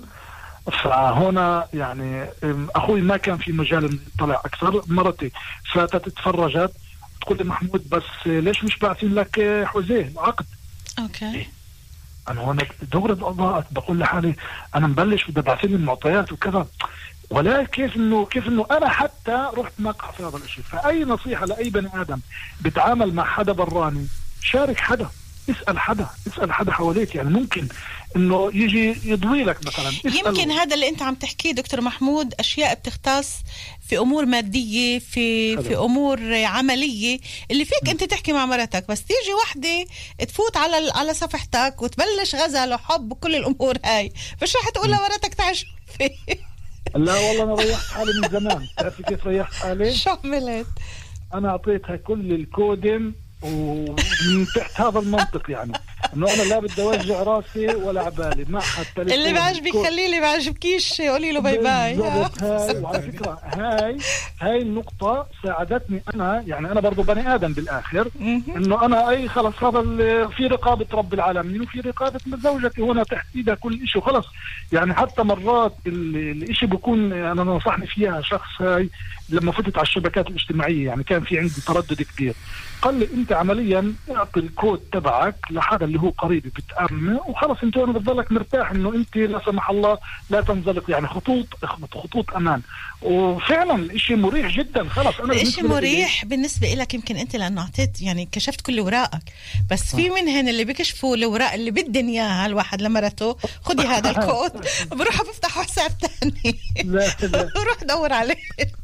فهنا يعني اخوي ما كان في مجال انه يطلع اكثر. مرتي فاتت تفرجت، تقول لي محمود بس ليش مش باعثين لك حوزيه عقد؟ اوكي. انا هنا دغري ضاعت، بقول لحالي انا مبلش بدي ابعث لي المعطيات وكذا، ولا كيف انه انا حتى رحت مقع في هذا الشيء. فاي نصيحه لاي بني ادم بتعامل مع حدا براني، شارك حدا، اسال حدا حواليك. يعني ممكن انه يجي يضوي لك مثلا. يمكن هذا اللي انت عم تحكيه دكتور محمود اشياء بتختص في امور ماديه، في امور عمليه اللي فيك انت تحكي مع مرتك، بس تيجي وحده تفوت على صفحتك وتبلش غزل وحب وكل الامور هاي، مش رح تقول لمرتك تعال شوفي. لا والله انا ريحت حالي من زمان. تعرفي كيف ريحت حالي؟ شو عملت؟ انا اعطيتها كل الكودم ومن تحت هذا المنطق، يعني انه انا لا بدي اوجع راسي ولا عبالي، ما حتى اللي بعجبك خليه، اللي بعجبكيش قولي له باي باي. وعلى فكره هاي النقطه ساعدتني انا، يعني انا برضو بني ادم بالاخر، انه انا اي خلص هذا في رقابه رب العالمين وفي رقابه زوجتي هنا تحت ايدها كل شيء وخلص. يعني حتى مرات الاشي بكون انا نصحني فيها شخص، هاي لما فتت على الشبكات الاجتماعيه، يعني كان في عندي تردد كبير، قال لي انت عمليا اعطي الكود تبعك لحدا اللي هو قريبي بتأمنه وخلص، انت هنا بتضلك مرتاح انه انت لا سمح الله لا تنزلق. يعني خطوط امان. وفعلا الاشي مريح جدا. خلص انا الاشي مريح بالنسبه لك، يمكن انت لانه اعطيت يعني كشفت كل اوراقك، بس في منهن اللي بيكشفوا الاوراق اللي بدن اياها الواحد لمرته، خدي هذا الكود بروح بفتح حساب ثاني روح دور عليه.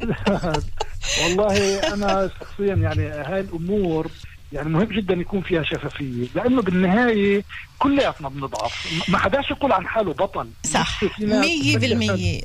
والله انا شخصيا يعني هاي الامور يعني مهم جدا يكون فيها شفافيه، لانه بالنهايه كلياتنا بنضعف، ما حداش يقول عن حاله بطل. صح 100%.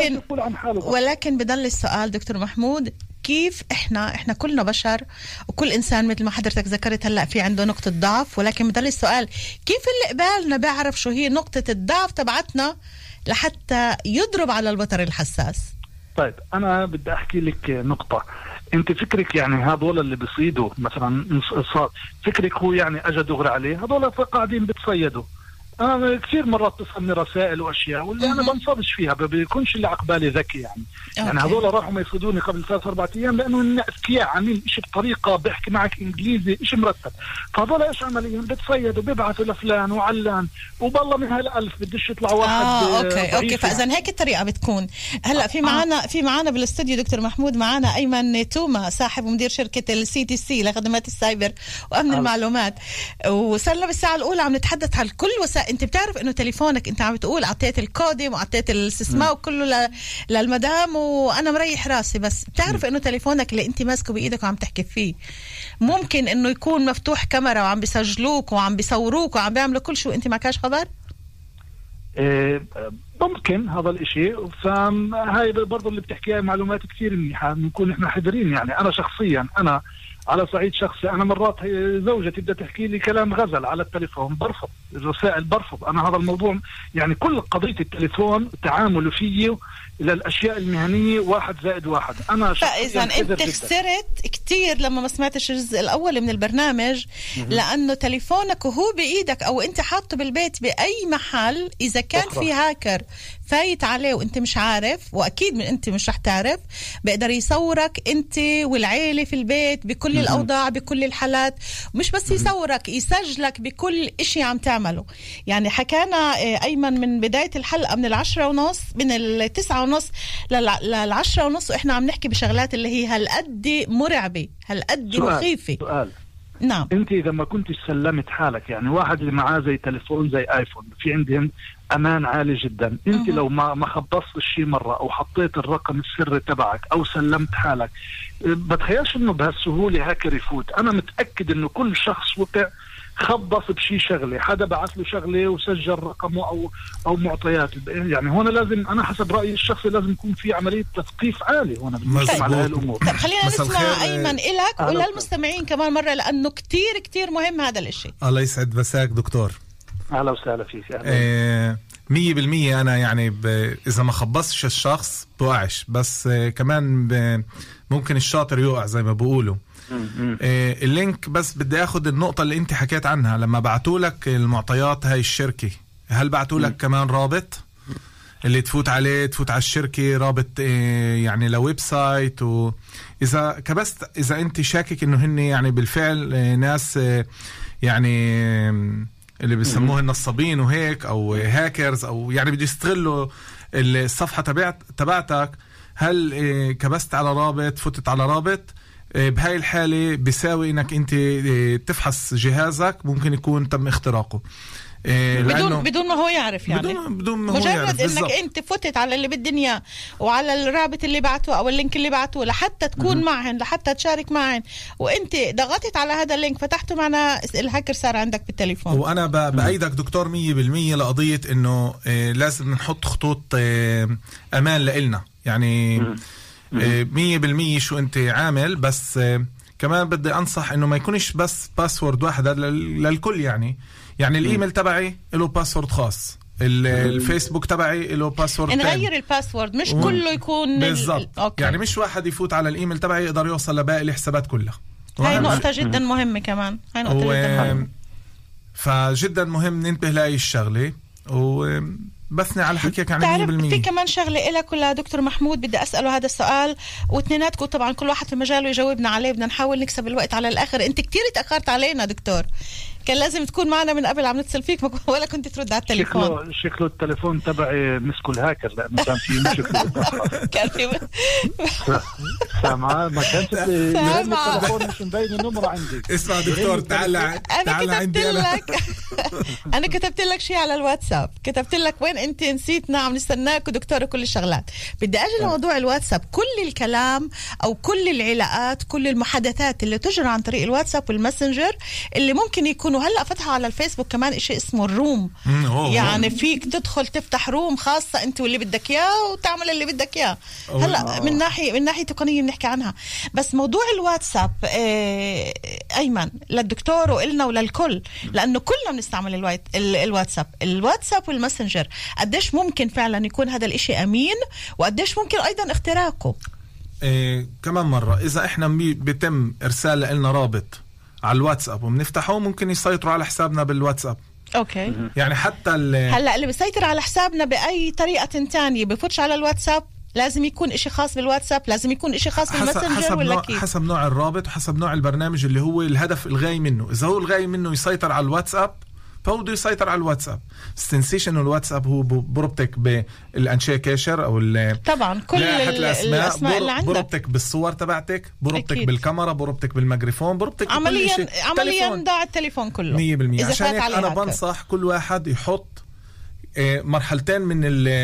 ولكن بضل السؤال دكتور محمود، كيف احنا كلنا بشر، وكل انسان مثل ما حضرتك ذكرت هلا في عنده نقطه ضعف، ولكن بضل السؤال كيف اللي قبالنا بيعرف شو هي نقطه الضعف تبعتنا لحتى يضرب على الوتر الحساس؟ طيب انا بدي احكي لك نقطه. انت فكرك يعني هذول اللي بيصيدوا مثلا، فكرك هو يعني اجى دغري عليه، هذول قاعدين بتصيدوا. أنا كثير مرات تصلني رسائل وأشياء واللي أنا بنصدش فيها بيكونش اللي عقبالي ذكي يعني هذول راحوا ما يفيدوني قبل 3-4 أيام لأنه أذكياء عاملين إشي بطريقة بيحكي معك إنجليزي إشي مرتب. فهذول إيش عمليا بتصيدوا بيبعثوا لفلان وعلان وبالله من هالألف بدش يطلع واحد. أوكي فإذا هيك الطريقة بتكون. هلا في معنا بالاستوديو دكتور محمود، معنا أيمن توما صاحب ومدير شركة CTC لخدمات السايبر وأمن المعلومات، وصلنا بالساعة الأولى عم نتحدث عن كل وسائل. انت بتعرف انه تليفونك انت عم بتقول عطيت الكودم وعطيت الاستثمار وكله للمدام وانا مريح راسي، بس بتعرف انه تليفونك اللي انت ماسكه بايدك وعم تحكي فيه ممكن انه يكون مفتوح كاميرا وعم بيسجلوك وعم بيصوروك وعم بيعملوا كل شيء انت معكاش خبر. ممكن هذا الاشي، فهاي برضو اللي بتحكيها معلومات كثير منيحة نكون احنا حذرين. يعني انا شخصيا انا على صعيد شخصي أنا مرات زوجتي بدها تحكي لي كلام غزل على التليفون برفض الرسائل، برفض أنا هذا الموضوع. يعني كل قضية التليفون تعامله فيه إلى الأشياء المهنية 1+1. أنا فإذا أنت خسرت كتير لما ما سمعتش الجزء الأول من البرنامج، لأنه تليفونك وهو بإيدك أو أنت حاطه بالبيت بأي محل، إذا كان في هاكر فايت عليه وأنت مش عارف، وأكيد من أنت مش رح تعرف، بقدر يصورك أنت والعيلة في البيت بكل الأوضاع بكل الحالات. مش بس يصورك، يسجلك بكل إشي عم تعمله. يعني حكانا أيمن من بداية الحلقة من 10:30 من 9:30 ل10:30 وإحنا عم نحكي بشغلات اللي هي هالقد مرعبة هالقد مخيفة. سؤال. نعم. انت اذا ما كنتش سلمت حالك، يعني واحد اللي معاه زي تليفون زي ايفون في عندهم امان عالي جدا، انت لو ما خبصت الشيء مرة او حطيت الرقم السري تبعك او سلمت حالك، بتخيلش انه بهالسهولة هاكر يفوت. انا متأكد انه كل شخص وقع خبص بشي شغلة، حدا بعث له شغلة وسجل رقمه او معطيات. يعني هون لازم انا حسب رأيي الشخصي لازم يكون في عملية تثقيف عالي هون بالنسبة على هالامور. طب خلينا نسمع ايمن إلك وللمستمعين كمان مرة، لانه كتير كتير مهم هذا الاشي. الله يسعد مساك دكتور. اهلا وسهلا فيك. 100% انا يعني اذا ما خبصتش الشخص بوقعش، بس كمان ممكن الشاطر يوقع زي ما بقولوا. اللينك بس بدي اخد النقطة اللي انت حكيت عنها. لما بعتولك المعطيات هاي الشركة، هل بعتولك كمان رابط اللي تفوت عليه، تفوت على الشركة، رابط يعني لويب سايت؟ وإذا كبست إذا أنت شاكك إنه هن يعني بالفعل ناس يعني اللي بيسموه النصابين وهيك أو هاكرز، أو يعني بدي يستغلوا الصفحة تبعتك، هل كبست على رابط، فتت على رابط؟ بهاي الحالة بيساوي إنك أنت تفحص جهازك، ممكن يكون تم اختراقه بدون ما هو يعرف. يعني بدون ما هو مجرد يعرف. انك بالزبط. انت فتت على اللي بالدنيا وعلى الرابط اللي بعته او اللينك اللي بعته لحتى تكون معهن، لحتى تشارك معهن، وانت ضغطت على هذا اللينك فتحته، معنا الهاكر صار عندك بالتليفون. وانا بايدك دكتور 100% لقضية انه لازم نحط خطوط امان لإلنا. يعني 100% شو انت عامل، بس كمان بدي انصح انه ما يكونش بس باسورد واحد للكل. يعني الايميل تبعي له باسورد خاص، الفيسبوك تبعي له باسورد تاني. نغير الباسورد، مش كله يكون بالضبط. يعني مش واحد يفوت على الايميل تبعي يقدر يوصل لباقي الحسابات كلها. هاي نقطة جدا مهمة كمان. هاي نقطة جدا مهمة. فجدا مهم ننتبه لهي الشغلة. بثني على حكيك عن 100%. في كمان شغلة إلك ولا دكتور محمود بدي أسأله هذا السؤال، واثنيناتكم طبعا كل واحد في مجاله يجاوبنا عليه، بدنا نحاول نكسب الوقت على الآخر. أنت كتير تأخرت علينا دكتور، كان لازم تكون معنا من قبل، عم نتصل فيك ولا كنت ترد على التليفون. شكله التليفون تبعي مسكوا الهاكر، لأنه كان في مشكلة. كان في سامعة ما كانت التليفون مش مبين النمرة عندي. اسمع دكتور، تعال عندي أنا كتبت لك شيء على الواتساب، كتبت لك وين أنت نسيتنا، عم نستناك ودكتور وكل الشغلات. بدي أجي لموضوع الواتساب. كل الكلام أو كل العلاقات، كل المحادثات اللي تجرى عن طريق الواتساب والماسنجر اللي ممكن يكونوا هلأ فتحوا على الفيسبوك كمان إشي اسمه الروم. يعني فيك تدخل تفتح روم خاصة أنت واللي بدك إياه وتعمل اللي بدك إياه. هلأ من ناحية تقنية بنحكي عنها. بس موضوع الواتساب أيمن للدكتور وإلنا وللكل، لأنه كلنا بنستعمل الواتساب والماسنجر. قديش ممكن فعلا يكون هذا الإشي أمين، وقديش ممكن أيضا اختراقه؟ كمان مرة إذا إحنا بيتم إرسال لنا رابط على الواتساب وبنفتحه، ممكن يسيطروا على حسابنا بالواتساب. اوكي. يعني حتى هلا اللي بيسيطر على حسابنا باي طريقه تانية بفوتش على الواتساب، لازم يكون إشي خاص بالواتساب، لازم يكون إشي خاص بالماسنجر ولا كيف؟ حسب نوع الرابط وحسب نوع البرنامج اللي هو الهدف الغاية منه. إذا هو الغاية منه يسيطر على الواتساب فهو بده يسيطر على الواتساب. استنسيشن الواتساب هو بربطك بالأنشاء كاشر أو طبعا كل الأسماء اللي عندك، بربطك بالصور تبعتك، بربطك بالكاميرا، بربطك بالميكروفون، بربطك عمليا ضاع التليفون كله 100%. عشان أنا بنصح كل واحد يحط مرحلتين من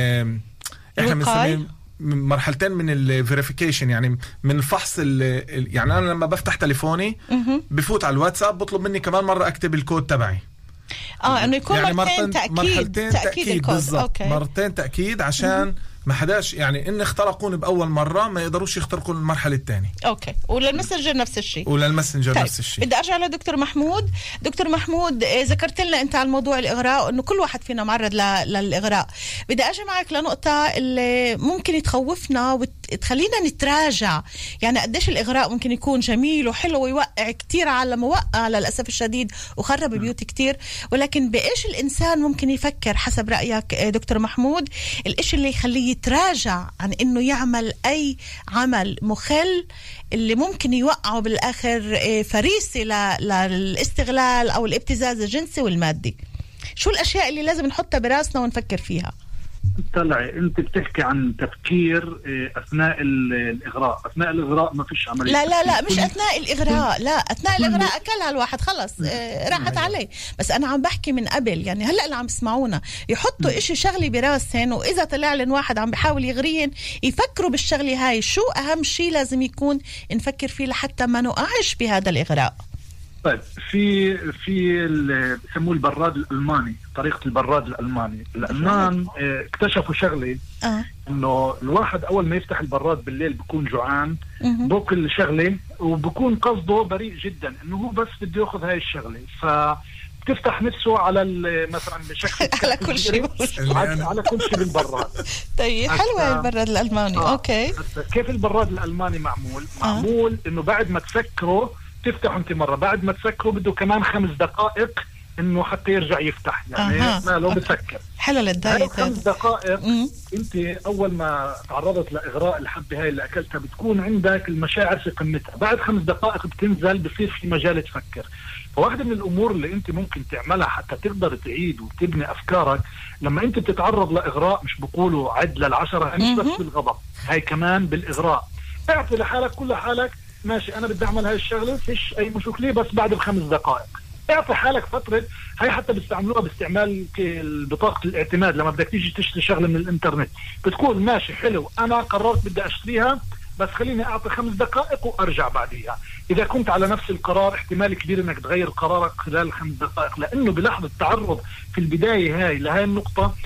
احنا بنسميه مرحلتين من الفيريفيكيشن، يعني من الفحص يعني انا لما بفتح تليفوني بفوت على الواتساب بطلب مني كمان مره اكتب الكود تبعي. انه يكون يعني مرحلتين تاكيد بالضبط. مرتين تاكيد عشان ما حداش يعني ان اخترقوني باول مره ما يقدروش يخترقوا المرحله الثانيه. اوكي. وللمسنجر نفس الشيء. طيب. نفس الشيء. بدي ارجع لدكتور محمود. دكتور محمود، ذكرت لنا انت على موضوع الاغراء انه كل واحد فينا معرض للاغراء. بدي اجي معك لنقطه اللي ممكن تخوفنا وتخلينا نتراجع. يعني قديش الاغراء ممكن يكون جميل وحلو ويوقع كتير على موقع للاسف الشديد وخرب بيوت كتير، ولكن بايش الانسان ممكن يفكر حسب رايك دكتور محمود الاشي اللي يخليه يتراجع عن انه يعمل اي عمل مخل اللي ممكن يوقعه بالاخر فريسة للاستغلال او الابتزاز الجنسي والمادي؟ شو الاشياء اللي لازم نحطها براسنا ونفكر فيها؟ طلعي انت بتحكي عن تفكير اثناء الاغراء. اثناء الاغراء ما فيش عمليه. لا مش اثناء الاغراء. لا اثناء الاغراء اكلها الواحد خلص راحت عليه. بس انا عم بحكي من قبل، يعني هلا اللي عم يسمعونا يحطوا اشي شغلي براسهن، واذا طلع لن واحد عم بحاول يغريهن يفكروا بالشغله هاي. شو اهم شيء لازم يكون نفكر فيه لحتى ما نقعش بهذا الاغراء؟ طيب في اللي بسموه البراد الألماني، طريقة البراد الألماني. الألمان اكتشفوا شغلة انه الواحد اول ما يفتح البراد بالليل بيكون جوعان، بوكل شغلة وبكون قصده بريء جدا انه هو بس بده ياخذ هاي الشغلة، بتفتح نفسه على مثلا بشكل على كل شيء على كل شيء بالبراد. طيب حلوة البراد الألماني. اوكي. كيف البراد الألماني معمول؟ معمول انه بعد ما تسكره تفتح انت مرة، بعد ما تسكره بده كمان 5 دقائق انه حتى يرجع يفتح، يعني ما لو بسكر. حلو للدايت. 5 دقائق انت اول ما تعرضت لاغراء الحبة هاي اللي اكلتها بتكون عندك المشاعر في قمتها، بعد 5 دقائق بتنزل بصير في مجال تفكر. فواحدة من الامور اللي انت ممكن تعملها حتى تقدر تعيد وتبني افكارك لما انت بتتعرض لاغراء، مش بقولوا عد لل10، مش بس بالغضب، هاي كمان بالاغراء. اعطي لحالك كل حالك ماشي انا بدي اعمل هاي الشغله فيش اي مشكله، بس بعد ب5 دقائق اعطي حالك فتره. هاي حتى بيستعملوها باستعمال بطاقه الاعتماد، لما بدك تيجي تشتري شغله من الانترنت بتقول ماشي حلو انا قررت بدي اشتريها بس خليني اعطي 5 دقائق وارجع بعديها. اذا كنت على نفس القرار احتمال كبير انك تغير قرارك خلال 5 دقائق، لانه بلحظه التعرض في البدايه هاي لهاي النقطه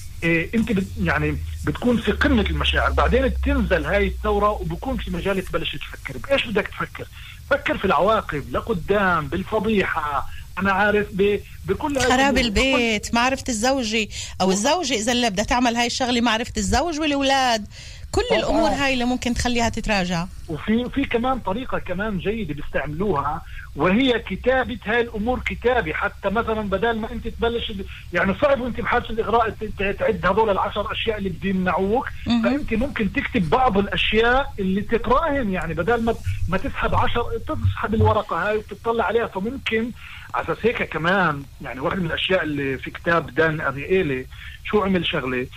انت يعني بتكون في قمة المشاعر، بعدين بتنزل هاي الثورة وبكون في مجال تبلش تفكر. بإيش بدك تفكر؟ فكر في العواقب لقدام، بالفضيحة، أنا عارف بكل خراب البيت، معرفة الزوجي أو الزوجة إذا اللي بدها تعمل هاي الشغلة، معرفة الزوج والأولاد، كل الأمور هاي اللي ممكن تخليها تتراجع. وفي كمان طريقة كمان جيدة بيستعملوها، وهي كتابة هاي الأمور كتابة. حتى مثلا بدل ما أنت تبلش يعني صعب وأنت بحالة الإغراء تعد هذول 10 أشياء اللي بيمنعوك، فأنت ممكن تكتب بعض الأشياء اللي تقرأهم، يعني بدل ما تسحب 10 تسحب الورقة هاي وتطلع عليها. فممكن على أساس هيك كمان يعني واحد من الأشياء اللي في كتاب دان أرييلي شو عمل شغلة،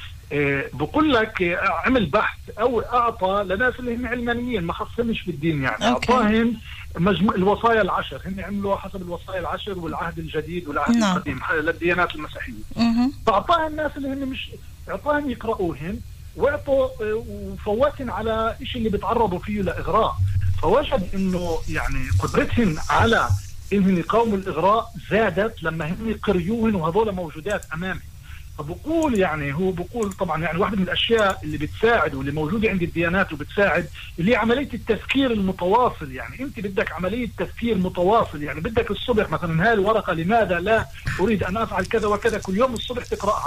بقول لك عمل بحث او اعطى لناس اللي هم علمانيين ما خصهمش بالدين، يعني اعطاهم مجموع الوصايا ال10، هن عملوا حسب الوصايا ال10 والعهد الجديد والعهد القديم للديانات المسيحيه. فاعطاها الناس اللي هن مش اعطاهم يقرأوهن، واعطوا وفوتن على شيء اللي بيتعرضوا فيه لاغراء. فوجد انه يعني قدرتهم على انهم يقاوموا الاغراء زادت لما هم قريوهن وهذول موجودات امامهم. فبقول يعني هو بقول طبعا يعني واحدة من الأشياء اللي بتساعد واللي موجودة عند الديانات وبتساعد اللي هي عملية التفكير المتواصل. يعني أنت بدك عملية تفكير متواصل، يعني بدك الصبح مثلا هاي الورقة لماذا لا أريد أن أفعل كذا وكذا كل يوم الصبح تقرأها،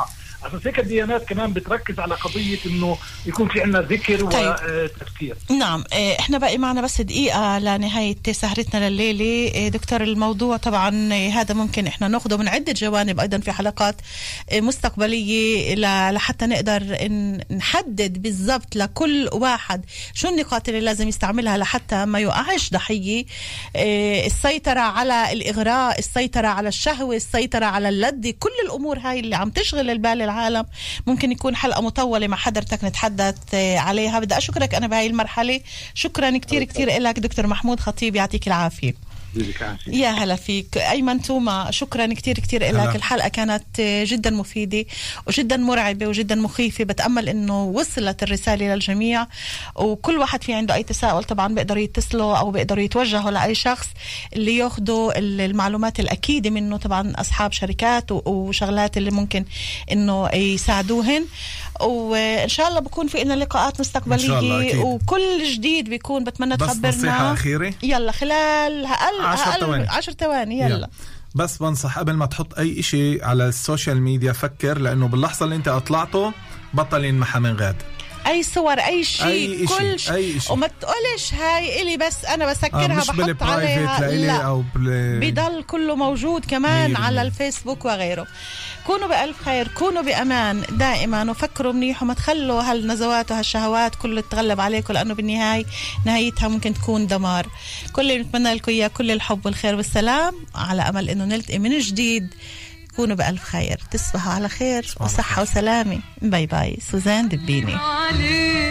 عشان هيك الديانات كمان بتركز على قضية إنه يكون في عنا ذكر وتفكير. نعم. احنا باقي معنا بس دقيقة لنهاية سهرتنا لليلة. دكتور، الموضوع طبعا هذا ممكن احنا ناخده من عدة جوانب أيضا في حلقات مستقبلية لحتى نقدر نحدد بالضبط لكل واحد شو النقاط اللي لازم يستعملها لحتى ما يقعش ضحية. السيطرة على الإغراء، السيطرة على الشهوة، السيطرة على اللذة، كل الأمور هاي اللي عم تشغل البال العالم ممكن يكون حلقة مطولة مع حضرتك نتحدث عليها. بدي أشكرك أنا بهاي المرحلة. شكرا كتير كتير إلك دكتور محمود خطيب، يعطيك العافية. يا هلا فيك. أيمن توما، شكرا كتير كتير إلك. الحلقة كانت جدا مفيدة وجدا مرعبة وجدا مخيفة. بتأمل إنه وصلت الرسالة للجميع، وكل واحد في عنده أي تساؤل طبعا بيقدر يتصلوا أو بيقدر يتوجهوا لأي شخص اللي ياخدوا المعلومات الأكيدة منه، طبعا أصحاب شركات وشغلات اللي ممكن إنه يساعدوهن. وإن شاء الله بكون في إلنا لقاءات مستقبلية وكل جديد بيكون. بتمنى تخبرنا. بس نصيحة أخيرة يلا خلال 10 ثواني يلا. بس بنصح قبل ما تحط أي إشي على السوشيال ميديا فكر، لأنه باللحظة اللي أنت أطلعته بطل ينمحى من غاد. أي صور، أي شيء، كل شيء. وما تقولش هاي إلي بس أنا بسكرها بحط عليها، لا أو بيضل كله موجود كمان على الفيسبوك وغيره. كونوا بألف خير، كونوا بأمان دائما، وفكروا منيح وما تخلوا هالنزوات وهالشهوات كله تتغلب عليكم، لأنه بالنهاية نهايتها ممكن تكون دمار. كل اللي نتمنى لكم إياه كل الحب والخير والسلام، على أمل إنه نلتقي من جديد. كونوا بألف خير، تصبحوا على خير وصحة وسلامة. باي باي. سوزان دبيني.